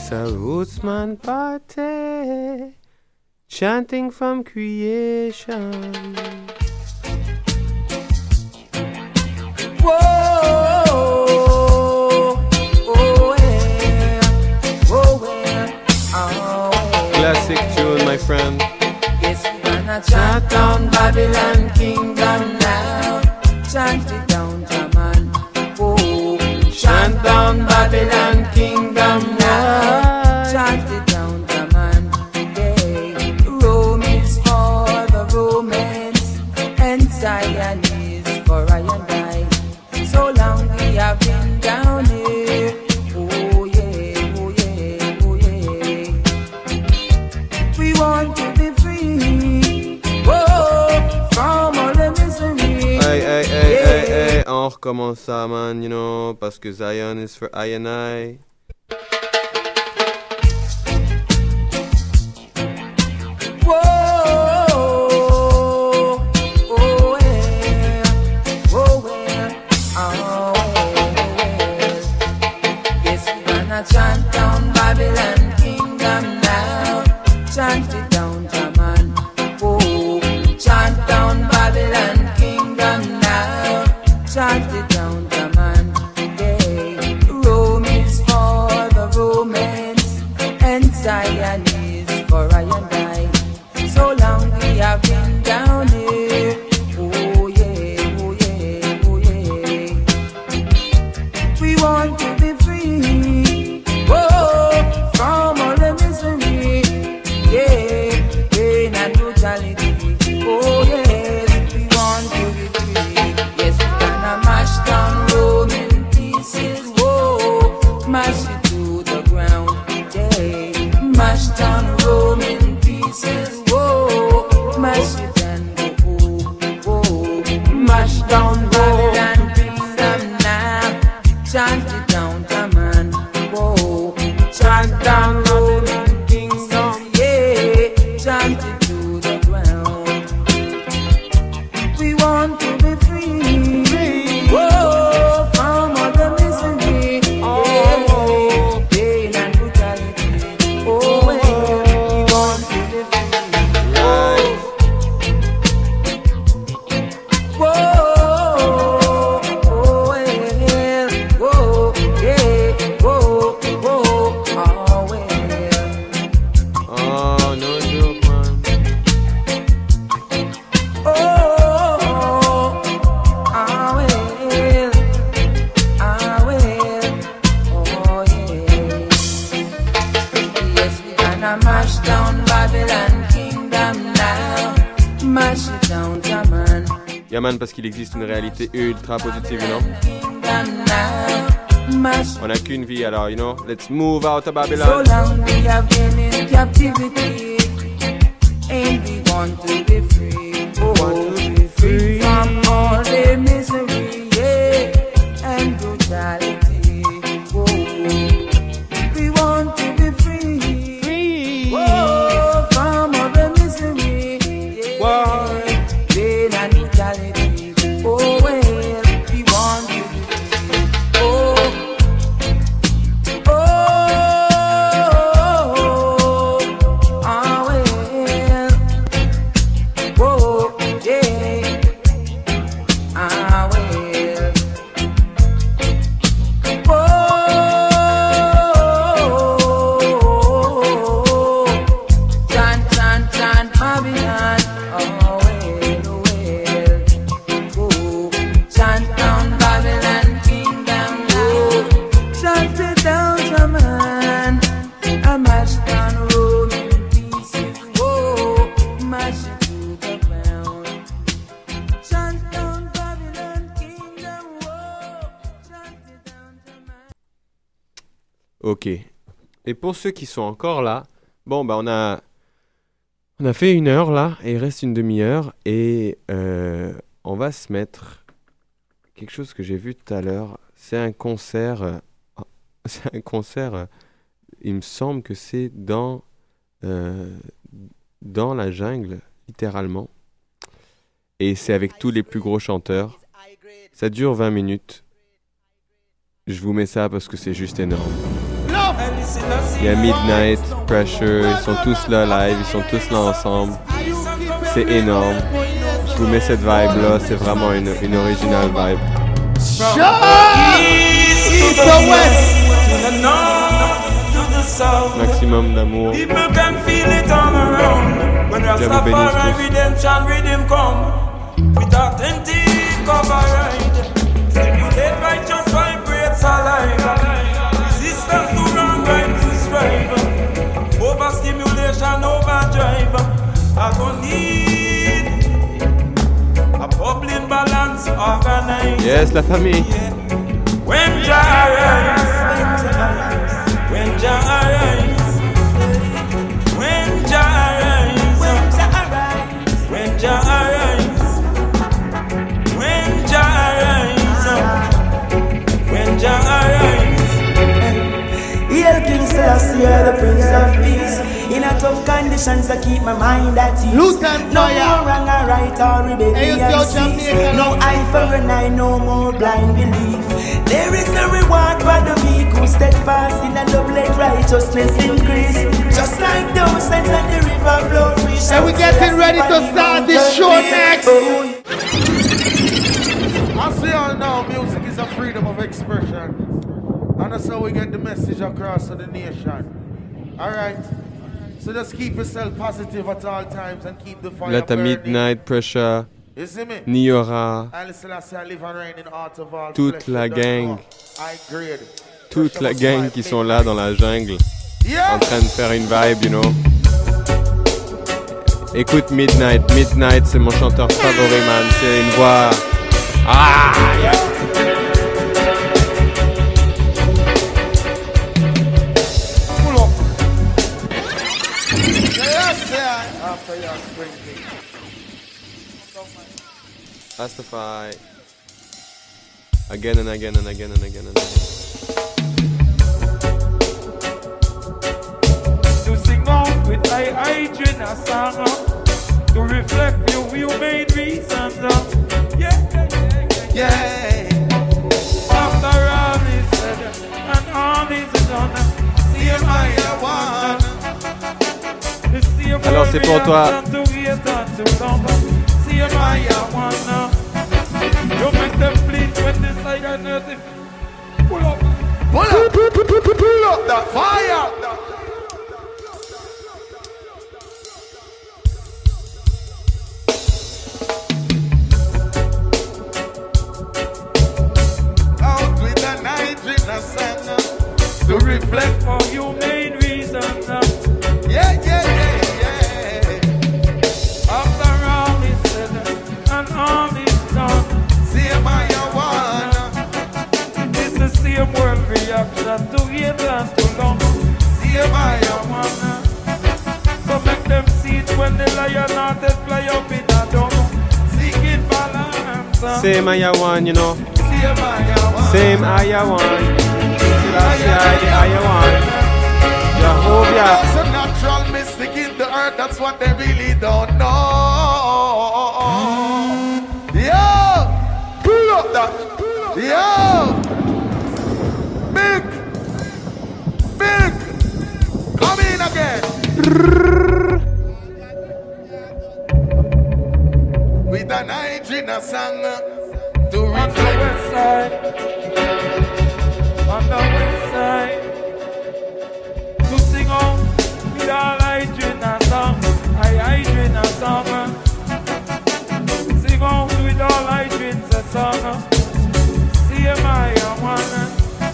It's a rootsman party, chanting from creation. Whoa, oh yeah, oh well, oh well. Classic tune, my friend. Yes, we're gonna chant down Babylon kingdom now. Chant it down, Jaman. Oh, chant down Babylon kingdom now. Chant it down, Jaman. Yeah, Rome is for the Romans, and Zion is for I and I. So long we have been down here. Oh yeah, oh yeah, oh yeah. We want to be free. Oh, from all the misery. Hey, hey, hey, yeah. hey, hey, on recommence ça, man, you know, parce que Zion is for I and I. Chant down Babylon kingdom now. Chant it down, Jaman. Oh, chant down Babylon kingdom now. Chant it down, Jaman. Yeah, Rome is for the Romans, and Zion is for I and I. So long we have been down here. Oh yeah, oh yeah, oh yeah. We want to be free. Oh, from all the misery, yeah, pain and brutality. Oh yes, we want to be free. Yes, we gonna mash down Rome in pieces. Whoa, mash it to the ground. Yeah, mash down Rome in pieces. Whoa, mash it and go. Whoa, mash down Babylon kingdom now. Chant it down, Jaman. Whoa, chant down Roman kingdom, yeah, chant it to the ground. We want to be free, free. Whoa, from all the misery, oh, yeah, pain and brutality. Oh, well, we want to be free. Whoa, whoa, oh, well, whoa, yeah, whoa, whoa, oh, well. Oh, no joke, man. Oh, oh, ah, well, ah, well, oh, yeah. Yes, we gonna mash down Babylon kingdom now. Mash it down, Jaman. Yeah, man, parce qu'il existe une réalité ultra positive, you know. Kingdom now. Mash. On a qu'une vie, alors, you know, let's move out of So Babylon. long we have been in captivity, and we want to be free. Oh, want to be free from all the misery, yeah, and brutality. Oh, we want to be free, free. Oh, from all the misery, yeah, pain and brutality. Oh, well, we want to be free. Oh. Ok. Et pour ceux qui sont encore là, bon, bah on a, on a fait une heure là, et il reste une demi-heure, et euh, on va se mettre quelque chose que j'ai vu tout à l'heure. C'est un concert, euh, c'est un concert, euh, il me semble que c'est dans, euh, dans la jungle, littéralement. Et c'est avec tous les plus gros chanteurs. Ça dure vingt minutes. Je vous mets ça parce que c'est juste énorme. Love, Il y a Midnight, Pressure, ils sont tous là live, ils sont tous là ensemble. C'est énorme. Je vous mets cette vibe là, c'est vraiment une, une original vibe. East to west, to the north, to the south. Maximum d'amour. People can feel it all around. When Rastafari redemption rhythm come, with authentic coverage, stimulate righteous vibrates alive. Resistance to wrong, right to strive. Overstimulation, overdrive. I gon' need a bubbling balance organized. Yes, la famille. When Jah arise, when Jah arise, when Jah arise, when Jah arise, when Jah arise, when Jah arise. Hail King Selassie, the Prince of Peace. In a tough conditions, I keep my mind at ease. Lutan No fire. more wrong or right or rebellion. Hey, it's your Jamaican. No eye for an eye, no more blind belief. There is a reward for the meek who steadfast in a love, let righteousness increase. Just like those sands at the river flow free. And we're getting ready to start this show next. As we all know, music is a freedom of expression. And that's how we get the message across to the nation. Alright? So just keep yourself positive at all times and keep the fire Là t'as burning. Midnight, Pressure, You see me? Niora, I listen, I say, I live and reign in art of all toute flesh, la you don't gang, know. I grade. toute la gang qui sont là dans la jungle, en train de faire une vibe, you know. Écoute Midnight, Midnight c'est mon chanteur favori, man, c'est une voix... Ah, yeah. Rastafari. Again and again and again and again and again. To sing out with I hydrate a song uh, to reflect you, you made reasons. Uh, yeah, yeah, yeah, yeah, yeah. After all is said and all is done, see I one. Alors c'est pour toi. See I one. You make them bleed when they say I nothing. Pull up, pull up, pull up the fire. Out with the night in the sun to reflect how you made reasons. Yeah, yeah, yeah, yeah. After all is said and all is done, same I one. It's the same world reaction to hate and to love. Same I one. So make them see it when the lion hearted fly up in a dome, seeking balance. Same I one, you know. Same I one. Same I one. Selassie I one. Jehovah. There's a natural mystic in the earth, that's what they really don't know. Yo! Pull up that. Yo! Big! Big! Come in again! With a Nigerian song to reflect. On the west side, to sing out with all I drink a song, I I drink a song. Sing out with all I drink a song. See my one.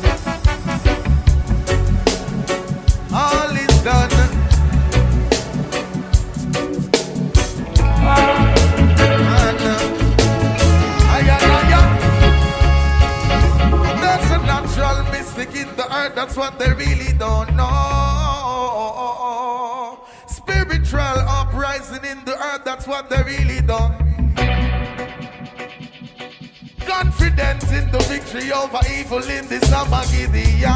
All is done. Ah. There's a natural mystic in the earth, that's what they really don't know. Spiritual uprising in the earth, that's what they really don't. Confidence in the victory over evil in this Armageddon.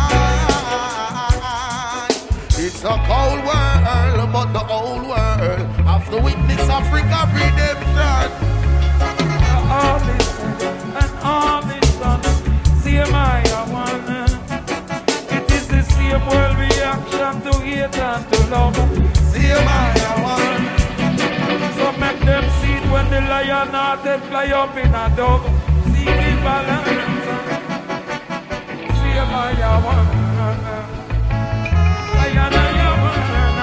It's a cold world, but the old world have to witness Africa redemption. All is said and all is done. See my one. It is the same world reaction Satan to love. See my one. So make them see it when the lion hearted fly up in a dog. See the balance. See my one. Lion and your one.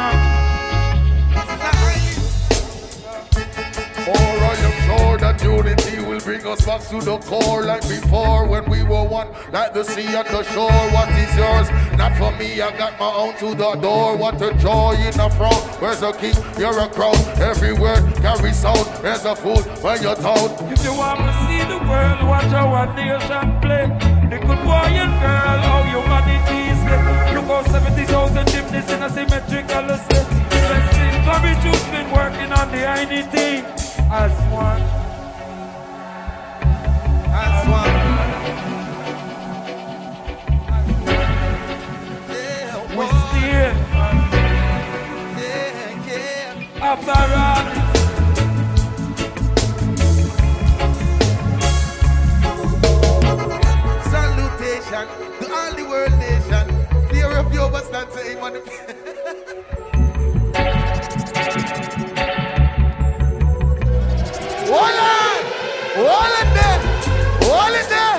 For I am sure that unity will bring us back to the core like before when we were one, like the sea and the shore. What is yours? Not for me, I got my own to the door. What a joy in the front. Where's a king? You're a crown. Every word carries sound. There's a fool when you're told. If you want to see the world, watch our nation play. The good boy and girl, how humanity is left. Look how seventy thousand gymnasts in a symmetrical state. Courage who's been working on the I N T as one. As one. We still Yeah, yeah. after all. Salutation to all the world nation. Fear of you, but stand to him on the Hold on! Hold it there! Hold it there!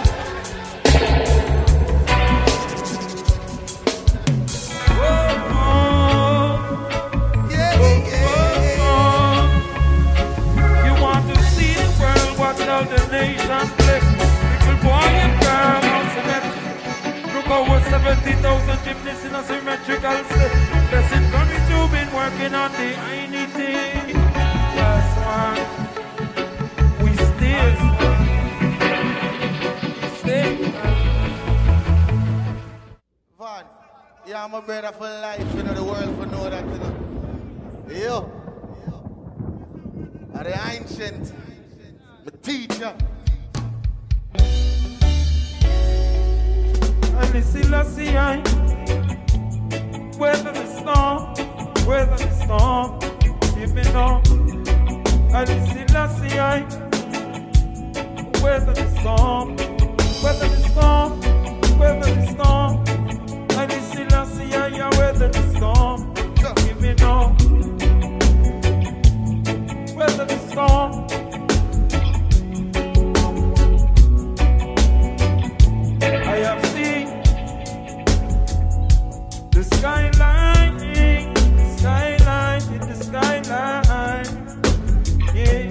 Yeah, yeah. You want to see the world, watch all the nations play. Little boy and girl on symmetry. Look over seventy thousand gymnasts in a symmetrical state. Blessing courage you've been working on the I N T. That's one. Van, yeah, I'm a brother for life, you know, the world for know that, you know. Yo, I'm the ancient, the teacher. And it's still a sea, weather the storm, weather the storm, give me now. And it's still a sea, weather the storm, weather the storm, weather the storm. And it's still a sea, yeah, weather the storm, give me now. Weather the storm. I have seen the skyline, the skyline, in the skyline, yeah.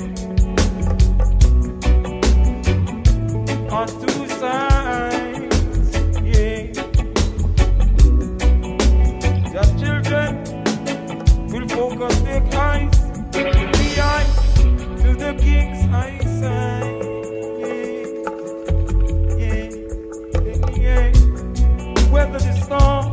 On two sides, yeah. Your children will focus their eyes to the eye, to the king's eyesight, yeah, yeah, yeah. Weather the storm,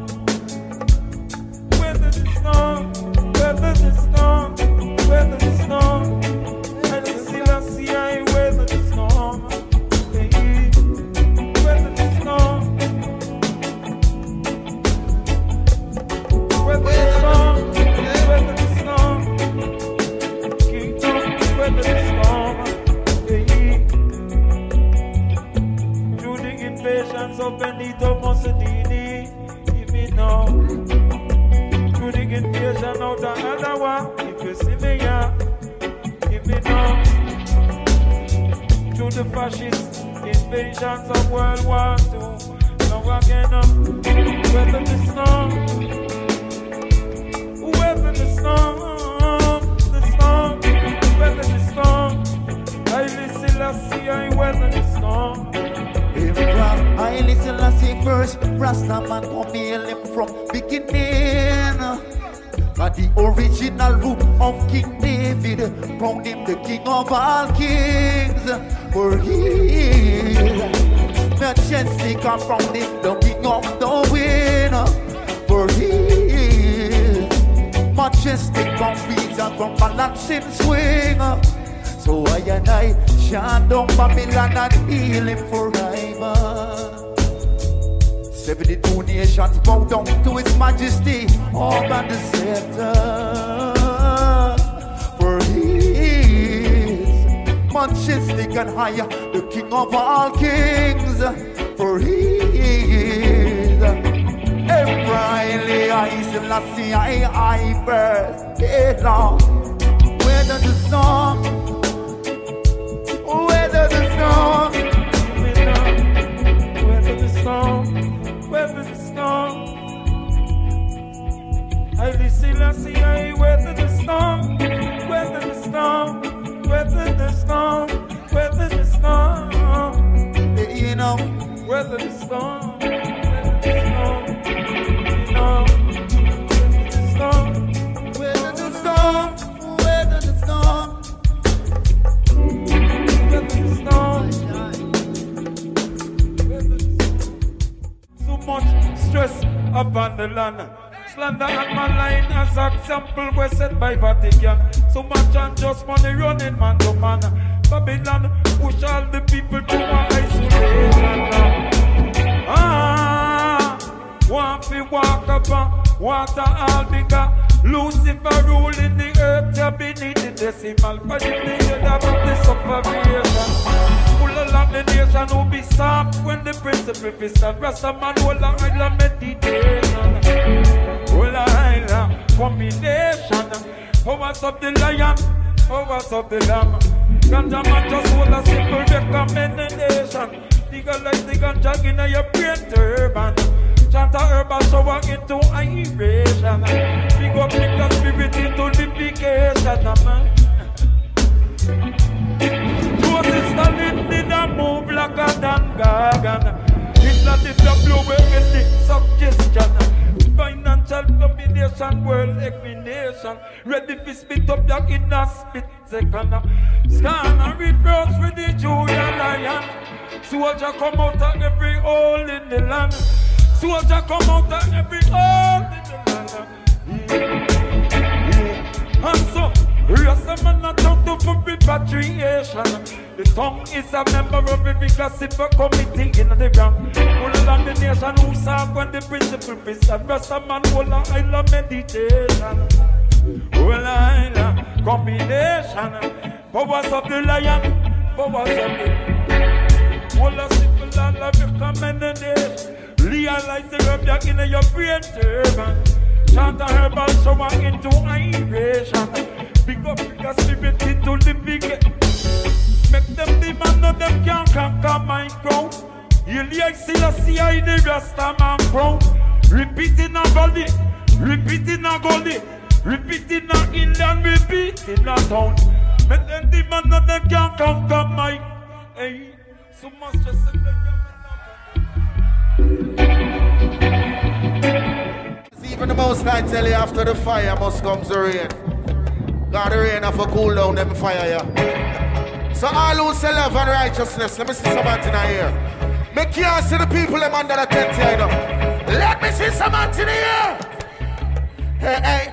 weather the storm, weather the storm, weather the storm, and the still I see I weather the storm. Weather the storm, weather the storm, weather the storm, kingdom, weather the storm, through the invasions of Benito Mussolini, give me now, through the invasion of the Adawa, if you see me, yeah, give me now, through the fascist invasions of World War Two. Now again, um, weather the storm, weather the storm, the storm, weather the storm. I listen, I see, I weather the storm. I listen, I see first. Rastaman come hail him from beginning. But the original root of King David, crowned him the king of all kings. For he majestic and from him the king of the wind. For he majestic from peace and from balancing swing. So I and I shut down Babylon and heal him forever. Seventy-two nations bow down to his majesty, all by the center. For he is majestic and higher, the king of all kings. For he is Riley, I still I see I I first. Hey, Lord. Weather the storm. Weather the storm. Weather the storm. Weather the storm. I listen, I see, I weather the storm, weather the storm, weather the storm, weather the storm. You know, weather the storm, weather the storm, weather the storm, weather the storm, weather the storm, weather the storm. So much stress upon the land. Slander and my line as example were set by Vatican. So much and just money running man to man. Babylon push all the people to isolation. Ah, want to walk upon water all bigger. Lucifer ruling the earth, you beneath the decimal. But in the head of the sufferation. Full along the nation who be soft when the principle is stand. Rastaman will I meditation. Well, I combination, powers of the lion, powers of the lamb. Ganja man just hold a simple recommendation. Legalize the ganja in your brain turban. Chant a herbal shower into iration. Big up the spirit into litigation, man. Joseph Stalin did a move like a Dan Gagan. Hitler did a blow away the suggestion. Financial domination, world elimination. Ready to spit up your inner spit second. Scan and reproach for the Julian lion. Soldier come out of every hole in the land. Soldier come out of every hole in the land. Yeah. And so, Rasta man not down to for repatriation. The tongue is a member of every classified committee in the ground. All along the nation who serve when the principle is and Rasta man hold a island meditation. Well, island combination. Powers of the lion, powers of the all a simple and love your recommendation. Realize the herb that in your brain turban. Chant a herbal shower into iration. Big up your spirit into the big. Make them demand that them can't conquer my crown. You like Selassie I the Rasta man crown. Repeat in a valley, repeat in a gully, repeat in a inland, repeat in a town. Make them demand that them can't conquer my. Hey, so much just say even the most I tell you after the fire must come the rain. God the rain have a cool down them fire yeah. So all who say love and righteousness, let me see somebody in here. Make you see the people them under the tent here, you know. Let me see somebody in here. Hey, hey.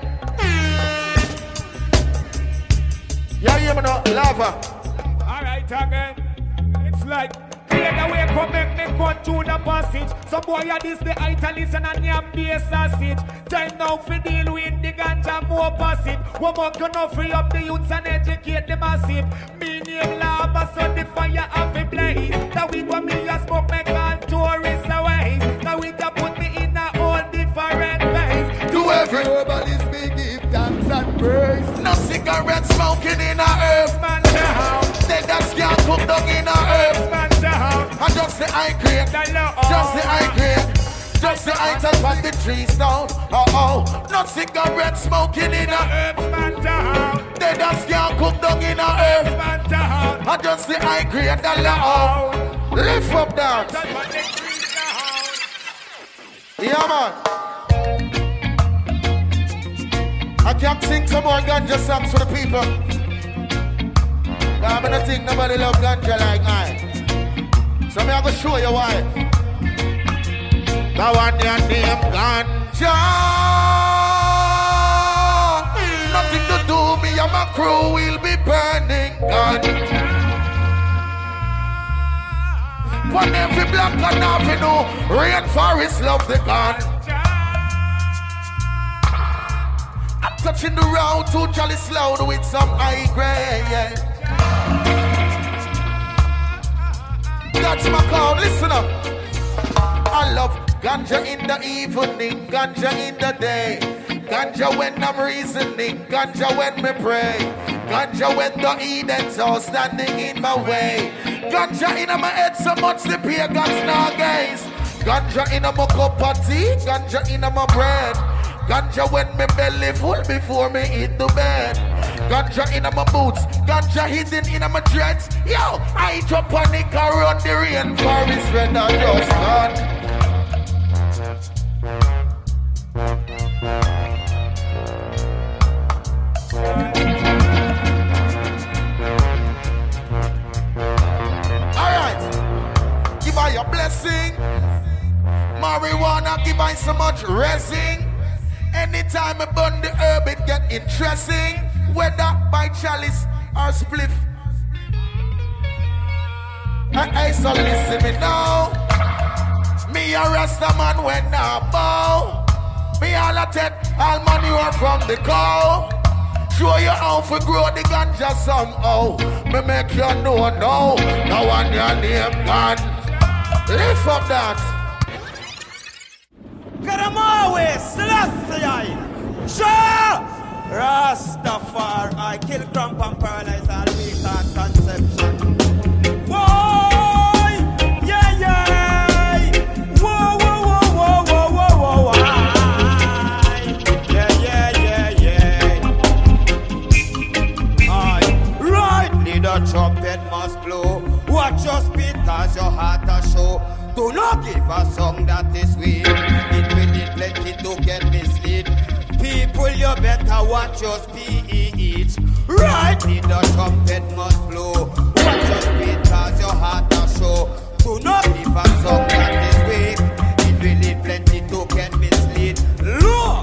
Yeah, you know, lava. Alright again. It's like clear the way, come make me go through the passage. Some boy are this the Italians and a name be a sausage. Time now for deal with the ganja more passive. One more gonna free up the youths and educate the massive. Me name lava so the fire have a blaze. Now we go me a smoke make all tourists away. Now we can put me in a all different ways. To every herbalist me give thanks and praise. No cigarette smoking in a herb man down. They that can't cook down in a herb man down. And just the high grade, just the high grade, just the high top on the trees down. Oh oh, not cigarette smoking in a herb man down. They that can't cook down in a herb man down. And just the high grade, the low. Lift up that. Yeah man. I can't sing some more ganja songs for the people. But I'm gonna think nobody love ganja like I. So me I go show you why. That one your name ganja. Nothing to do, me and my crew will be burning ganja. On every block and avenue, rainforest love the ganja. Touching the road too jolly slow with some high grade, yeah. That's my call, listen up. I love Ganja in the evening, ganja in the day. Ganja when I'm reasoning, ganja when me pray. Ganja when the Eden's all standing in my way. Ganja in my head so much the pagans now gaze. Ganja in my cup of tea, ganja in my bread. Ganja when me belly full before me hit the bed. Ganja in my boots, ganja hidden in my dreads. Yo, I drop panic around the rainforest when I just gone. Alright, give her your blessing. Marijuana give her so much resin. Anytime I burn the herb it get interesting. Whether by chalice or spliff. Hey, hey, so listen me now. Me a Rasta man when I bow. Me all a take all manure from the cow. Show you how to grow the ganja somehow. Me make you know now. Now on your name gone. Lift up that. Get them always, Celestia. Sure! Rastafari, I kill cramp and paralyze all weak and conception. Whoa! Yeah, yeah! Whoa, whoa, whoa, whoa, whoa, whoa, whoa, aye. Yeah, yeah, yeah, yeah. Aye. Rightly the trumpet must blow. Watch your speed cause your heart a show. Do not give a song that is weak. It will need plenty to get mislead. People, you better watch your speech. Right in the trumpet must blow. Watch your speed cause your heart a show. Do not give a song that is weak. It will need plenty to get mislead. Look!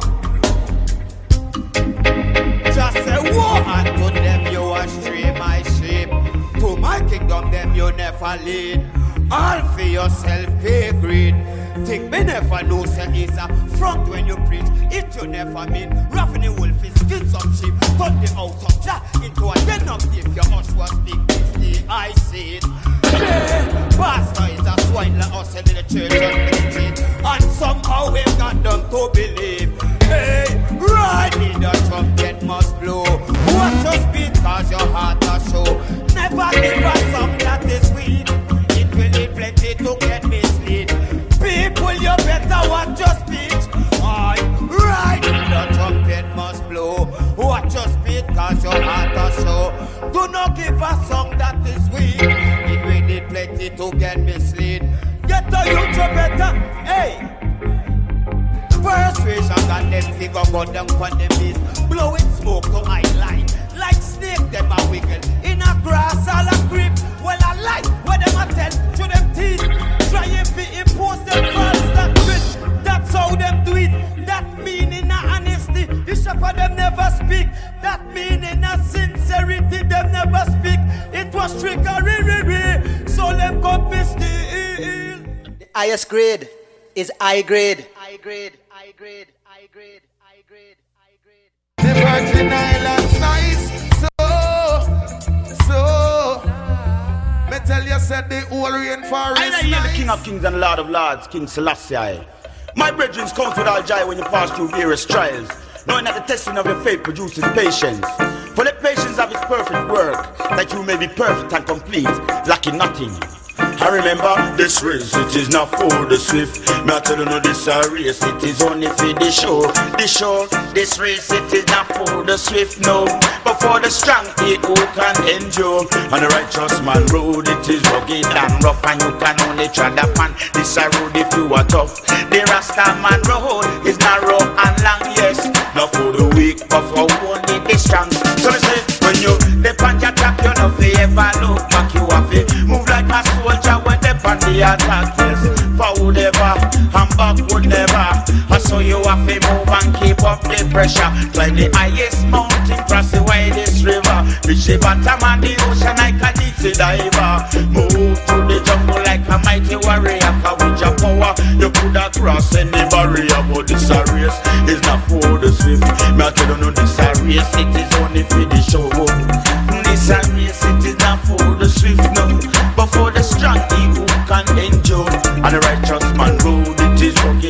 Just say war and to them you astray my sheep. To my kingdom them you never lead. All for yourself pay greed. Think me never know say it's a front when you preach. It you never mean. Roughing the wolf is skin some sheep. Turn the house of Jah into a den of thief. Your hush was big this day I see it. Yeah. Pastor is a swine like us in the church and the street. And somehow we've got them to believe. Hey, right in the trumpet must blow. Watch your speed cause your heart a show. Never give a song that is weak. We need plenty to get mislead. People, you better watch your speech. Aye, right, the trumpet must blow. Watch your speech, cause your heart a show. Do not give a song that is weak. It will need plenty to get mislead. Get the youth you better, hey. Persuasion got them figure go down on the beast. Blowing smoke to I line. Like snake, them a wiggle. In a grass, all a grip. Well, I like what them a tell to them teeth. Try if it impose them false doctrine. That's how them do it. That meaning a honesty. The shepherd them never speak. That meaning a sincerity. Them never speak. It was trickery. So them come be still. The highest grade is high grade. High grade. High grade. High grade. High grade. High grade. The Virgin Islands nice. So, so. Me tell you, said the whole rainforest. I hear the King of Kings and Lord of Lords, King Selassie. My brethren count with all joy when you pass through various trials, knowing that the testing of your faith produces patience. For the patience of His perfect work, that you may be perfect and complete, lacking nothing. I remember this race, it is not for the swift. Me I tell you no, this a race, it is only for the show. The show, this race, it is not for the swift, no, but for the strong, he who can endure. On the righteous man road, it is rugged and rough, and you can only tread upon this a road if you are tough. The Rasta man road is narrow and long, yes, not for the weak, but for only the strong. So me say, when you depend your track, you know fi ever look back, you have to move like a soldier when they on the attack, yes. Forward ever and backward never. I saw you have to move and keep up the pressure. Climb the highest mountain, cross the widest river. Reach the bottom of the ocean like a deep diver. Move through the jungle like a mighty warrior. Cause with your power, you could have crossed any barrier. But this a race is not for the swift. Me I tell you no, this a race, it is only for the show. This a race, it is not for the swift, no, but for the strong, he who can endure. And the righteous man road, it is rugged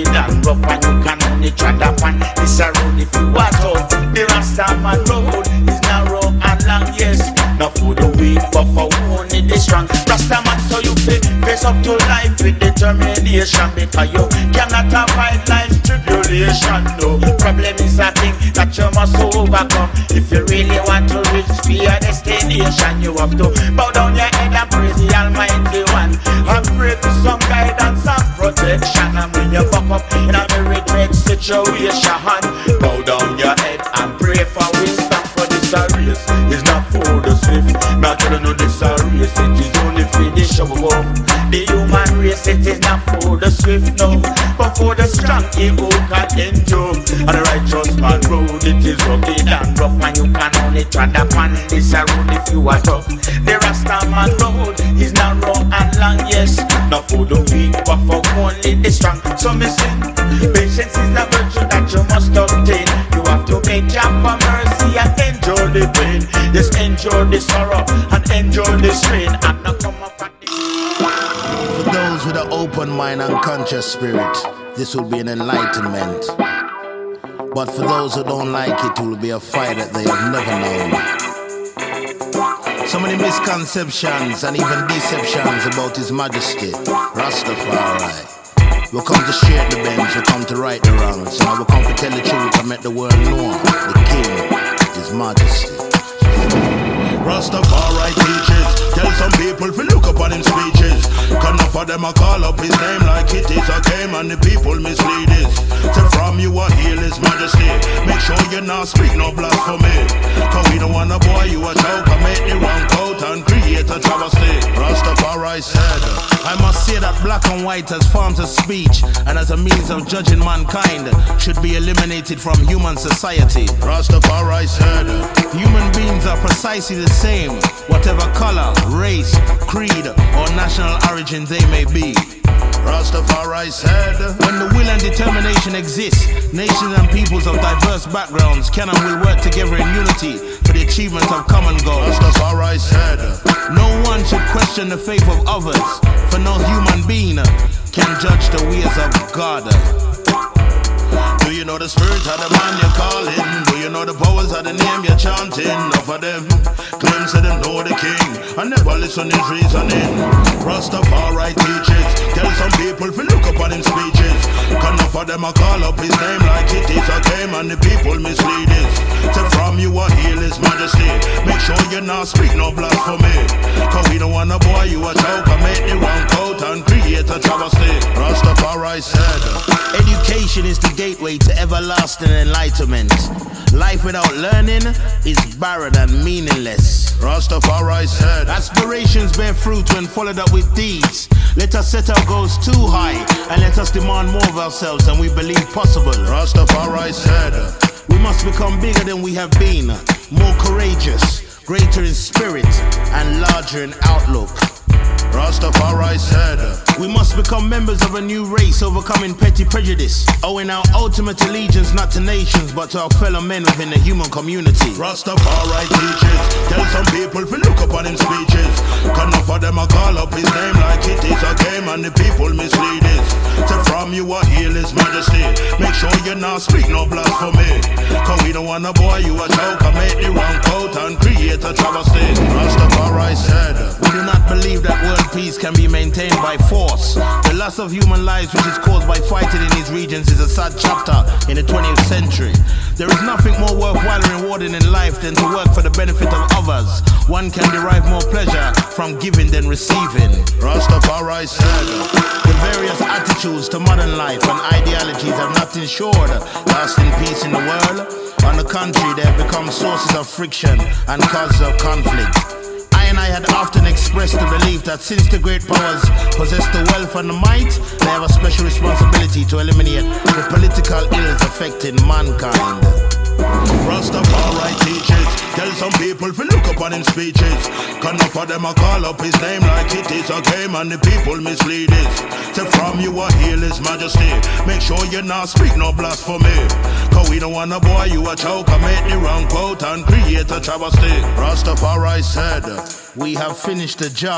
weak, but for only the strong. Rasta man, so you fit face up to life with determination, because you cannot avoid life's tribulation. No problem is a thing that you must overcome. If you really want to reach your destination, you have to bow down your head and praise the Almighty One, and pray for some guidance and protection. And when you fuck up in a very dread situation, bow down your head and pray for wisdom, for this a race is not for the swift. Not to know this a race, it is only for the show. The human race, it is not for the swift, no, but for the strong, ego can endure. And the righteous man road, it is rugged and rough, and you can only tread upon this a road if you are tough. The Rasta man road is narrow and long, yes, not for the weak, but for only the strong. So me sing, patience is the virtue that you must obtain. You have to make job for mercy and endure the pain. Just endure the sorrow and endure the strain, and not come up at the... For those with an open mind and conscious spirit, this will be an enlightenment. But for those who don't like it, it will be a fire that they have never known. So many misconceptions and even deceptions about His Majesty, Rastafari. We come to share the bends, we come to right the wrongs. So now we come to tell the truth and make the world know the King, His Majesty. Rastafari teaches, tell some people to look upon him speeches. Cause enough of them a call up his name like it is a game, and the people mislead it. So from you a heal His Majesty, make sure you not speak no blasphemy. Cause we don't want a boy you a choke and make the wrong coat and create a travesty. Rastafari said, I must say that black and white as forms of speech and as a means of judging mankind should be eliminated from human society. Rastafari said, human beings are precisely the same, whatever color, race, creed, or national origin they may be. Rastafari said, when the will and determination exists, nations and peoples of diverse backgrounds can and will work together in unity for the achievement of common goals. Rastafari said, no one should question the faith of others, for no human being can judge the ways of God. Do you know the spirit of the man you're calling? Do you know the powers of the name you're chanting? Enough of them claims that them know the king and never listen his reasoning. Rastafari teaches, tell some people to look upon him speeches. Cause enough of them a call up his name like it is a game, and the people mislead it. So from you a heal His Majesty, make sure you not speak no blasphemy. Cause we don't want a boy you a choke and make the wrong coat and create a travesty. Rastafari said, education is the gateway to everlasting enlightenment. Life without learning is barren and meaningless. Rastafari said, aspirations bear fruit when followed up with deeds. Let us set our goals too high and let us demand more of ourselves than we believe possible. Rastafari said, we must become bigger than we have been, more courageous, greater in spirit and larger in outlook. Rastafari said, we must become members of a new race, overcoming petty prejudice, owing our ultimate allegiance not to nations but to our fellow men within the human community. Rastafari teaches, tell some people to look upon him speeches. Cause enough of them a call up his name like it is a game, and the people mislead it. So from you a heal His Majesty, make sure you not speak no blasphemy. Cause we don't want a boy you a choke and make the wrong coat and create a travesty. Rastafari said, we do not believe that world peace can be maintained by force. The loss of human lives which is caused by fighting in these regions is a sad chapter in the twentieth century. There is nothing more worthwhile and rewarding in life than to work for the benefit of others. One can derive more pleasure from giving than receiving. Rastafari said, the various attitudes to modern life and ideologies have not ensured lasting peace in the world. On the contrary, they have become sources of friction and causes of conflict. I and I had often expressed the belief that since the great powers possess the wealth and the might, they have a special responsibility to eliminate the political ills affecting mankind. Rastafari teaches, tell some people to look upon him speeches. Cause enough of them a call up his name like it is a game, and the people mislead it. So from you a heal His Majesty, make sure you not speak no blasphemy. Cause we don't want a boy you a choke and make the wrong quote and create a travesty. Rastafari said, we have finished the job.